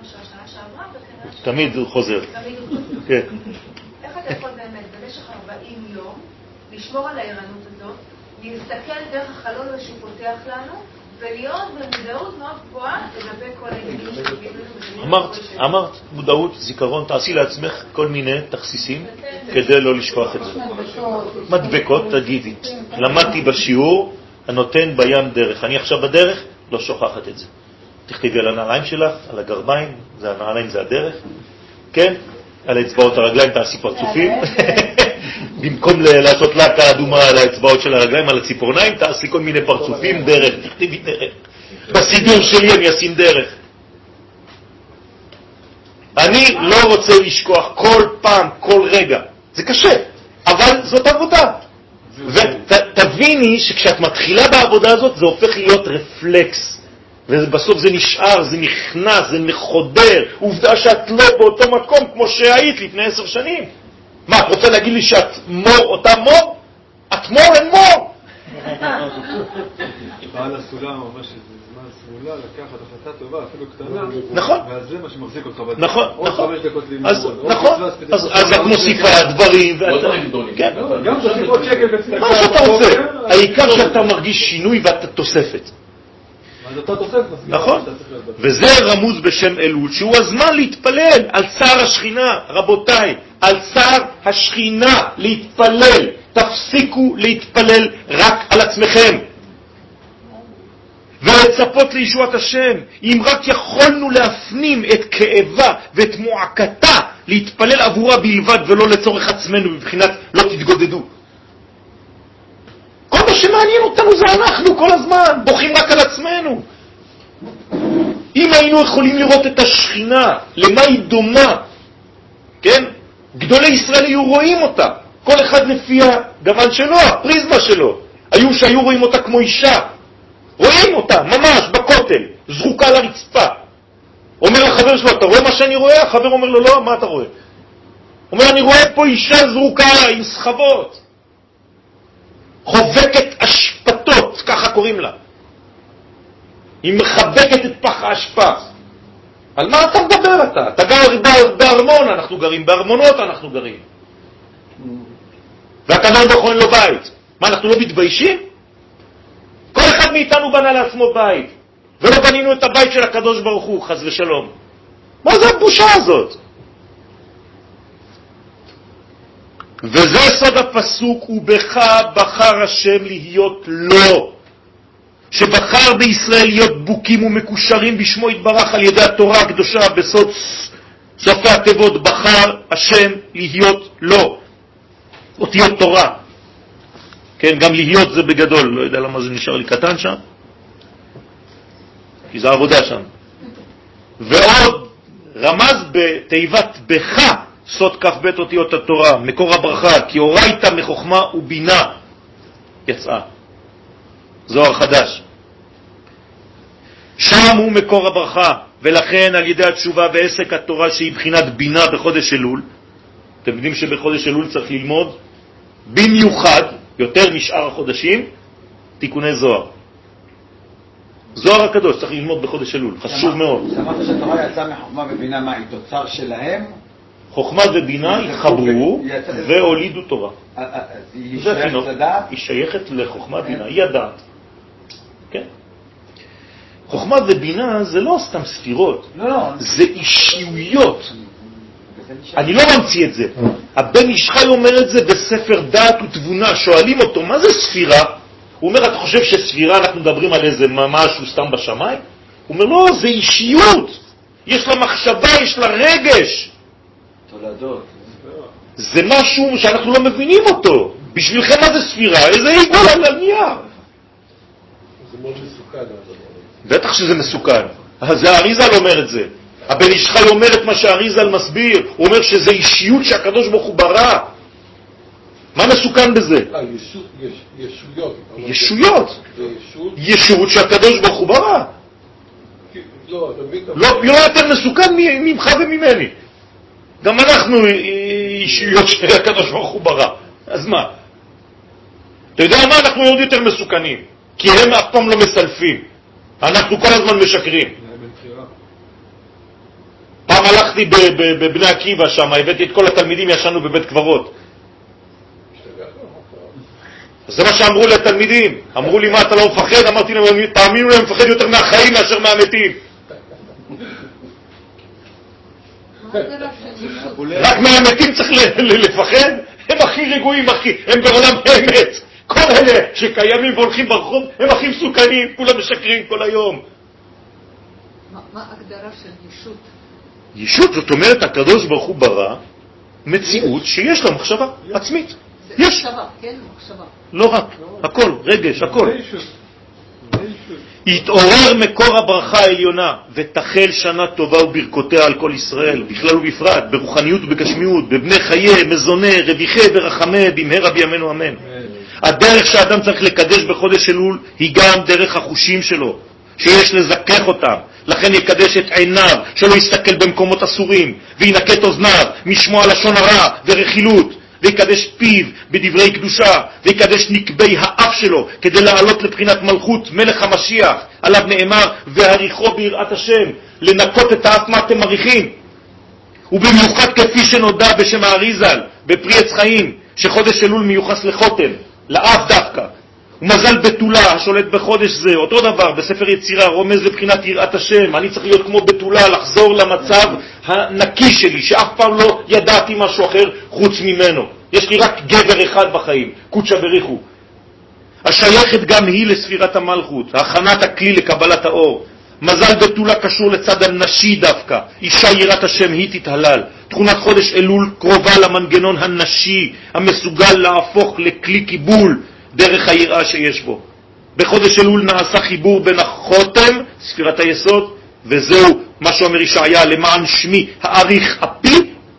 תמיד הוא חוזר. כן. איך אתה יכול באמת במשך ארבעים יום לשמור על הערנות הזאת, להסתכל דרך החלון שהוא פותח לנו, ולהיות במודעות מאוד גבוהה לגבי כל העניינים שתגידו לנו. אמרת, אמרת, מודעות, זיכרון, תעשי לעצמך כל מיני תכסיסים כדי לא לשכוח את זה. מדבקות, תגידי. למדתי בשיעור, הנותן בים דרך. אני עכשיו בדרך, לא שוכחת את זה. תכתבי על הנעליים שלך, על הגרביים, זה הנעליים, זה הדרך. כן? על האצבעות הרגליים תעשי פרצופים. במקום לעשות לקה אדומה על האצבעות של הרגליים, על הציפורניים, תעשי כל מיני פרצופים, דרך, תכתבי דרך. בסידור שלי אני אשים דרך. אני לא רוצה לשכוח כל פעם, כל רגע. זה קשה, אבל זאת עבודה. ותביני שכשאת מתחילה בעבודה הזאת, זה הופך להיות רפלקס. ובסוף זה נשאר, זה נכנס, זה מחודר. עובדה שאת לא באותו מקום כמו שהיית לפני עשר שנים. מה, את רוצה להגיד לי שאת מור, אותה מור? את מור, אין מור. בעל הסולם אומר שזה זמן סמולה לקחת החלטה טובה, אפילו קטנה. נכון. ואז זה מה שמחזיק אותך בדרך. נכון, נכון. עוד חמש דקות לימוד. נכון. אז את מוסיפה דברים. כן. גם תוסיפות שקל בצדקה. מה שאתה רוצה. העיקר שאתה מרגיש שינוי ואתה תוספת. אז אתה תוספת. נכון. וזה רמוז בשם אלול, שהוא הזמן להתפלל על צער השכינה. רבותיי, על צער השכינה להתפלל. תפסיקו להתפלל רק על עצמכם. ולצפות לישועת השם. אם רק יכולנו להפנים את כאבה ואת מועקתה, להתפלל עבורה בלבד ולא לצורך עצמנו, בבחינת לא תתגודדו. כל מה שמעניין אותנו זה אנחנו כל הזמן, בוכים רק על עצמנו. אם היינו יכולים לראות את השכינה, למה היא דומה, כן? גדולי ישראל היו רואים אותה, כל אחד לפי הגוון שלו, הפריזמה שלו. היו שהיו רואים אותה כמו אישה, רואים אותה ממש בכותל, זרוקה על הרצפה. אומר לחבר שלו, אתה רואה מה שאני רואה? החבר אומר לו, לא, מה אתה רואה? אומר, אני רואה פה אישה זרוקה עם סחבות, חובקת אשפתות, ככה קוראים לה. היא מחבקת את פח האשפה. על מה אתה מדבר אתה? אתה גר בארמון, אנחנו גרים, בארמונות אנחנו גרים. והקדוש ברוך הוא אין לו בית. מה, אנחנו לא מתביישים? כל אחד מאיתנו בנה לעצמו בית, ולא בנינו את הבית של הקדוש ברוך הוא, חס ושלום. מה זה הבושה הזאת? וזה סוד הפסוק, ובך בחר השם להיות לו, שבחר בישראל להיות בוקים ומקושרים בשמו יתברך על ידי התורה הקדושה. בסוד סופי התיבות בחר השם להיות לו, אותיות תורה. כן, גם להיות זה בגדול, לא יודע למה זה נשאר לי קטן שם. כי זה עבודה שם. ועוד רמז בתיבת בך, סוד כף בית אותיות התורה, מקור הברכה, כי הורייתא מחוכמה ובינה יצאה. זוהר חדש. שם הוא מקור הברכה, ולכן על ידי התשובה ועסק התורה שהיא בחינת בינה בחודש אלול, אתם יודעים שבחודש אלול צריך ללמוד במיוחד, יותר משאר החודשים, תיקוני זוהר. זוהר הקדוש צריך ללמוד בחודש אלול, חשוב מאוד. שמעת שהתורה יצאה מחוכמה ובינה, מה היא תוצר שלהם? חוכמה ובינה התחברו והולידו תורה. היא שייכת לדעת? היא שייכת לחוכמה בינה, היא הדעת. כן. חוכמה ובינה זה לא סתם ספירות, לא, לא. זה אישיויות. אני לא ממציא את זה. הבן איש חי אומר את זה בספר דעת ותבונה. שואלים אותו, מה זה ספירה? הוא אומר, אתה חושב שספירה אנחנו מדברים על איזה משהו סתם בשמיים? הוא אומר, לא, זה אישיות. יש לה מחשבה, יש לה רגש. תולדות. זה משהו שאנחנו לא מבינים אותו. בשבילכם מה זה ספירה? איזה עיגול על הנייר. זה מאוד מסוכן. בטח שזה מסוכן. זה האריזל אומר את זה. הבן איש חי אומר את מה שהאריזל מסביר. הוא אומר שזה אישיות שהקדוש ברוך הוא ברא. מה מסוכן בזה? אה, ישויות. ישויות. זה ישות. ישות שהקדוש ברוך הוא ברא. לא, אתה מבין? לא יותר מסוכן ממך וממני. גם אנחנו אישיות שהקדוש ברוך הוא ברא. אז מה? אתה יודע מה? אנחנו עוד יותר מסוכנים. כי הם אף פעם לא מסלפים. אנחנו כל הזמן משקרים. פעם הלכתי בבני עקיבא שם, הבאתי את כל התלמידים, ישנו בבית קברות. זה מה שאמרו לתלמידים. אמרו לי, מה, אתה לא מפחד? אמרתי להם, תאמינו להם, מפחד יותר מהחיים מאשר מהמתים. רק מהמתים צריך לפחד? הם הכי רגועים, הם בעולם האמת. כל אלה שקיימים והולכים ברחוב, הם הכי מסוכנים, כולם משקרים כל היום. מה ההגדרה של ישות? ישות, זאת אומרת, הקדוש ברוך הוא ברא מציאות שיש לה מחשבה עצמית. יש. מחשבה, כן, מחשבה. לא רק, הכל, רגש, הכל. יתעורר מקור הברכה העליונה ותחל שנה טובה וברכותיה על כל ישראל, בכלל ובפרט, ברוחניות ובגשמיות, בבני חיי, מזוני, רביחי ורחמי, במהרה בימינו אמן. הדרך שאדם צריך לקדש בחודש אלול היא גם דרך החושים שלו, שיש לזכך אותם. לכן יקדש את עיניו, שלא יסתכל במקומות אסורים, וינקה את אוזניו משמוע לשון הרע ורכילות, ויקדש פיו בדברי קדושה, ויקדש נקבי האף שלו, כדי לעלות לבחינת מלכות מלך המשיח, עליו נאמר, והריחו ביראת השם, לנקות את האף מה אתם מריחים. ובמיוחד כפי שנודע בשם האריזל, בפרי עץ חיים, שחודש אלול מיוחס לחותם, לאף דווקא. ומזל בתולה השולט בחודש זה, אותו דבר בספר יצירה, רומז לבחינת יראת השם. אני צריך להיות כמו בתולה, לחזור למצב הנקי שלי, שאף פעם לא ידעתי משהו אחר חוץ ממנו. יש לי רק גבר אחד בחיים, קודשא בריחו. השייכת גם היא לספירת המלכות, הכנת הכלי לקבלת האור. מזל בתולה קשור לצד הנשי דווקא, אישה יראת השם היא תתהלל. תכונת חודש אלול קרובה למנגנון הנשי, המסוגל להפוך לכלי קיבול דרך היראה שיש בו. בחודש אלול נעשה חיבור בין החותם, ספירת היסוד, וזהו מה שאומר ישעיה, למען שמי האריך אפי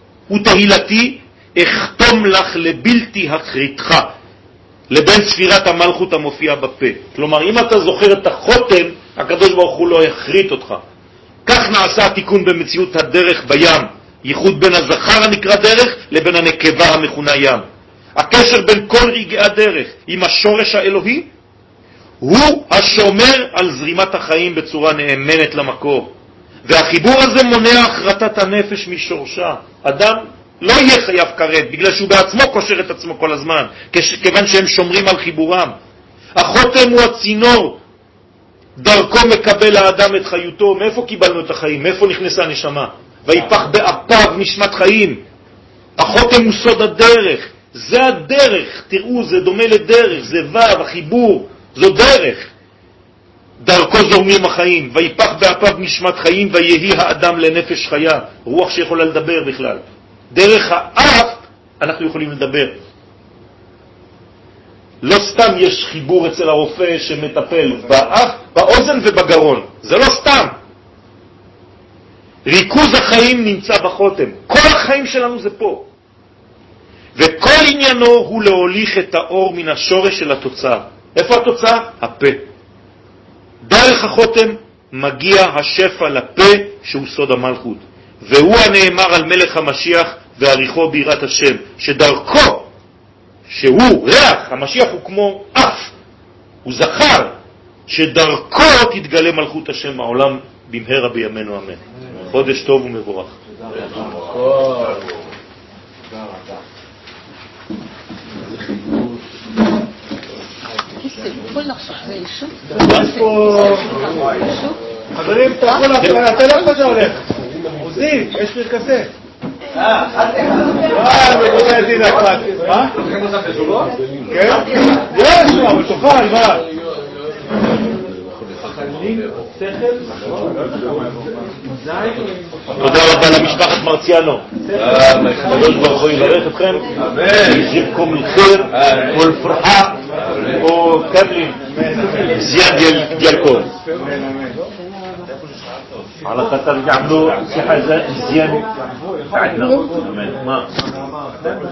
ותהילתי אכתום לך לבלתי הכריתך, לבין ספירת המלכות המופיע בפה. כלומר, אם אתה זוכר את החותם, הקדוש ברוך הוא לא יחריט אותך. כך נעשה התיקון במציאות הדרך בים, ייחוד בין הזכר הנקרא דרך לבין הנקבה המכונה ים. הקשר בין כל רגעי הדרך עם השורש האלוהי הוא השומר על זרימת החיים בצורה נאמנת למקור. והחיבור הזה מונע החרטת הנפש משורשה. אדם לא יהיה חייב כרת, בגלל שהוא בעצמו קושר את עצמו כל הזמן, כיוון שהם שומרים על חיבורם. החותם הוא הצינור, דרכו מקבל האדם את חיותו. מאיפה קיבלנו את החיים? מאיפה נכנסה נשמה? ויפח באפיו נשמת חיים. החותם הוא סוד הדרך. זה הדרך, תראו, זה דומה לדרך, זה וו, החיבור, זו דרך. דרכו זורמים החיים, ויפח באפיו נשמת חיים, ויהי האדם לנפש חיה, רוח שיכולה לדבר בכלל. דרך האף אנחנו יכולים לדבר. לא סתם יש חיבור אצל הרופא שמטפל באף, באוזן ובגרון. זה לא סתם. ריכוז החיים נמצא בחותם. כל החיים שלנו זה פה. וכל עניינו הוא להוליך את האור מן השורש של התוצאה. איפה התוצאה? הפה. דרך החותם מגיע השפע לפה שהוא סוד המלכות. והוא הנאמר על מלך המשיח ועריכו בירת השם, שדרכו, שהוא ריח, המשיח הוא כמו אף, הוא זכר, שדרכו תתגלה מלכות השם העולם במהרה בימינו אמן. חודש טוב ומבורך. חברים, אתה לא חושב הולך. עוזי, יש פרקסה. אה, אה, מבוגע דין אכפת. מה? כן? יש, אבל תאכל, מה? תודה רבה למשפחת מרציאנו. הקדוש ברוך הוא יברך אתכם, יזיבכם לחיר ולפרחה וכמלים זיין דיאל כל. على خاطر يعملوا صحة زين عندنا.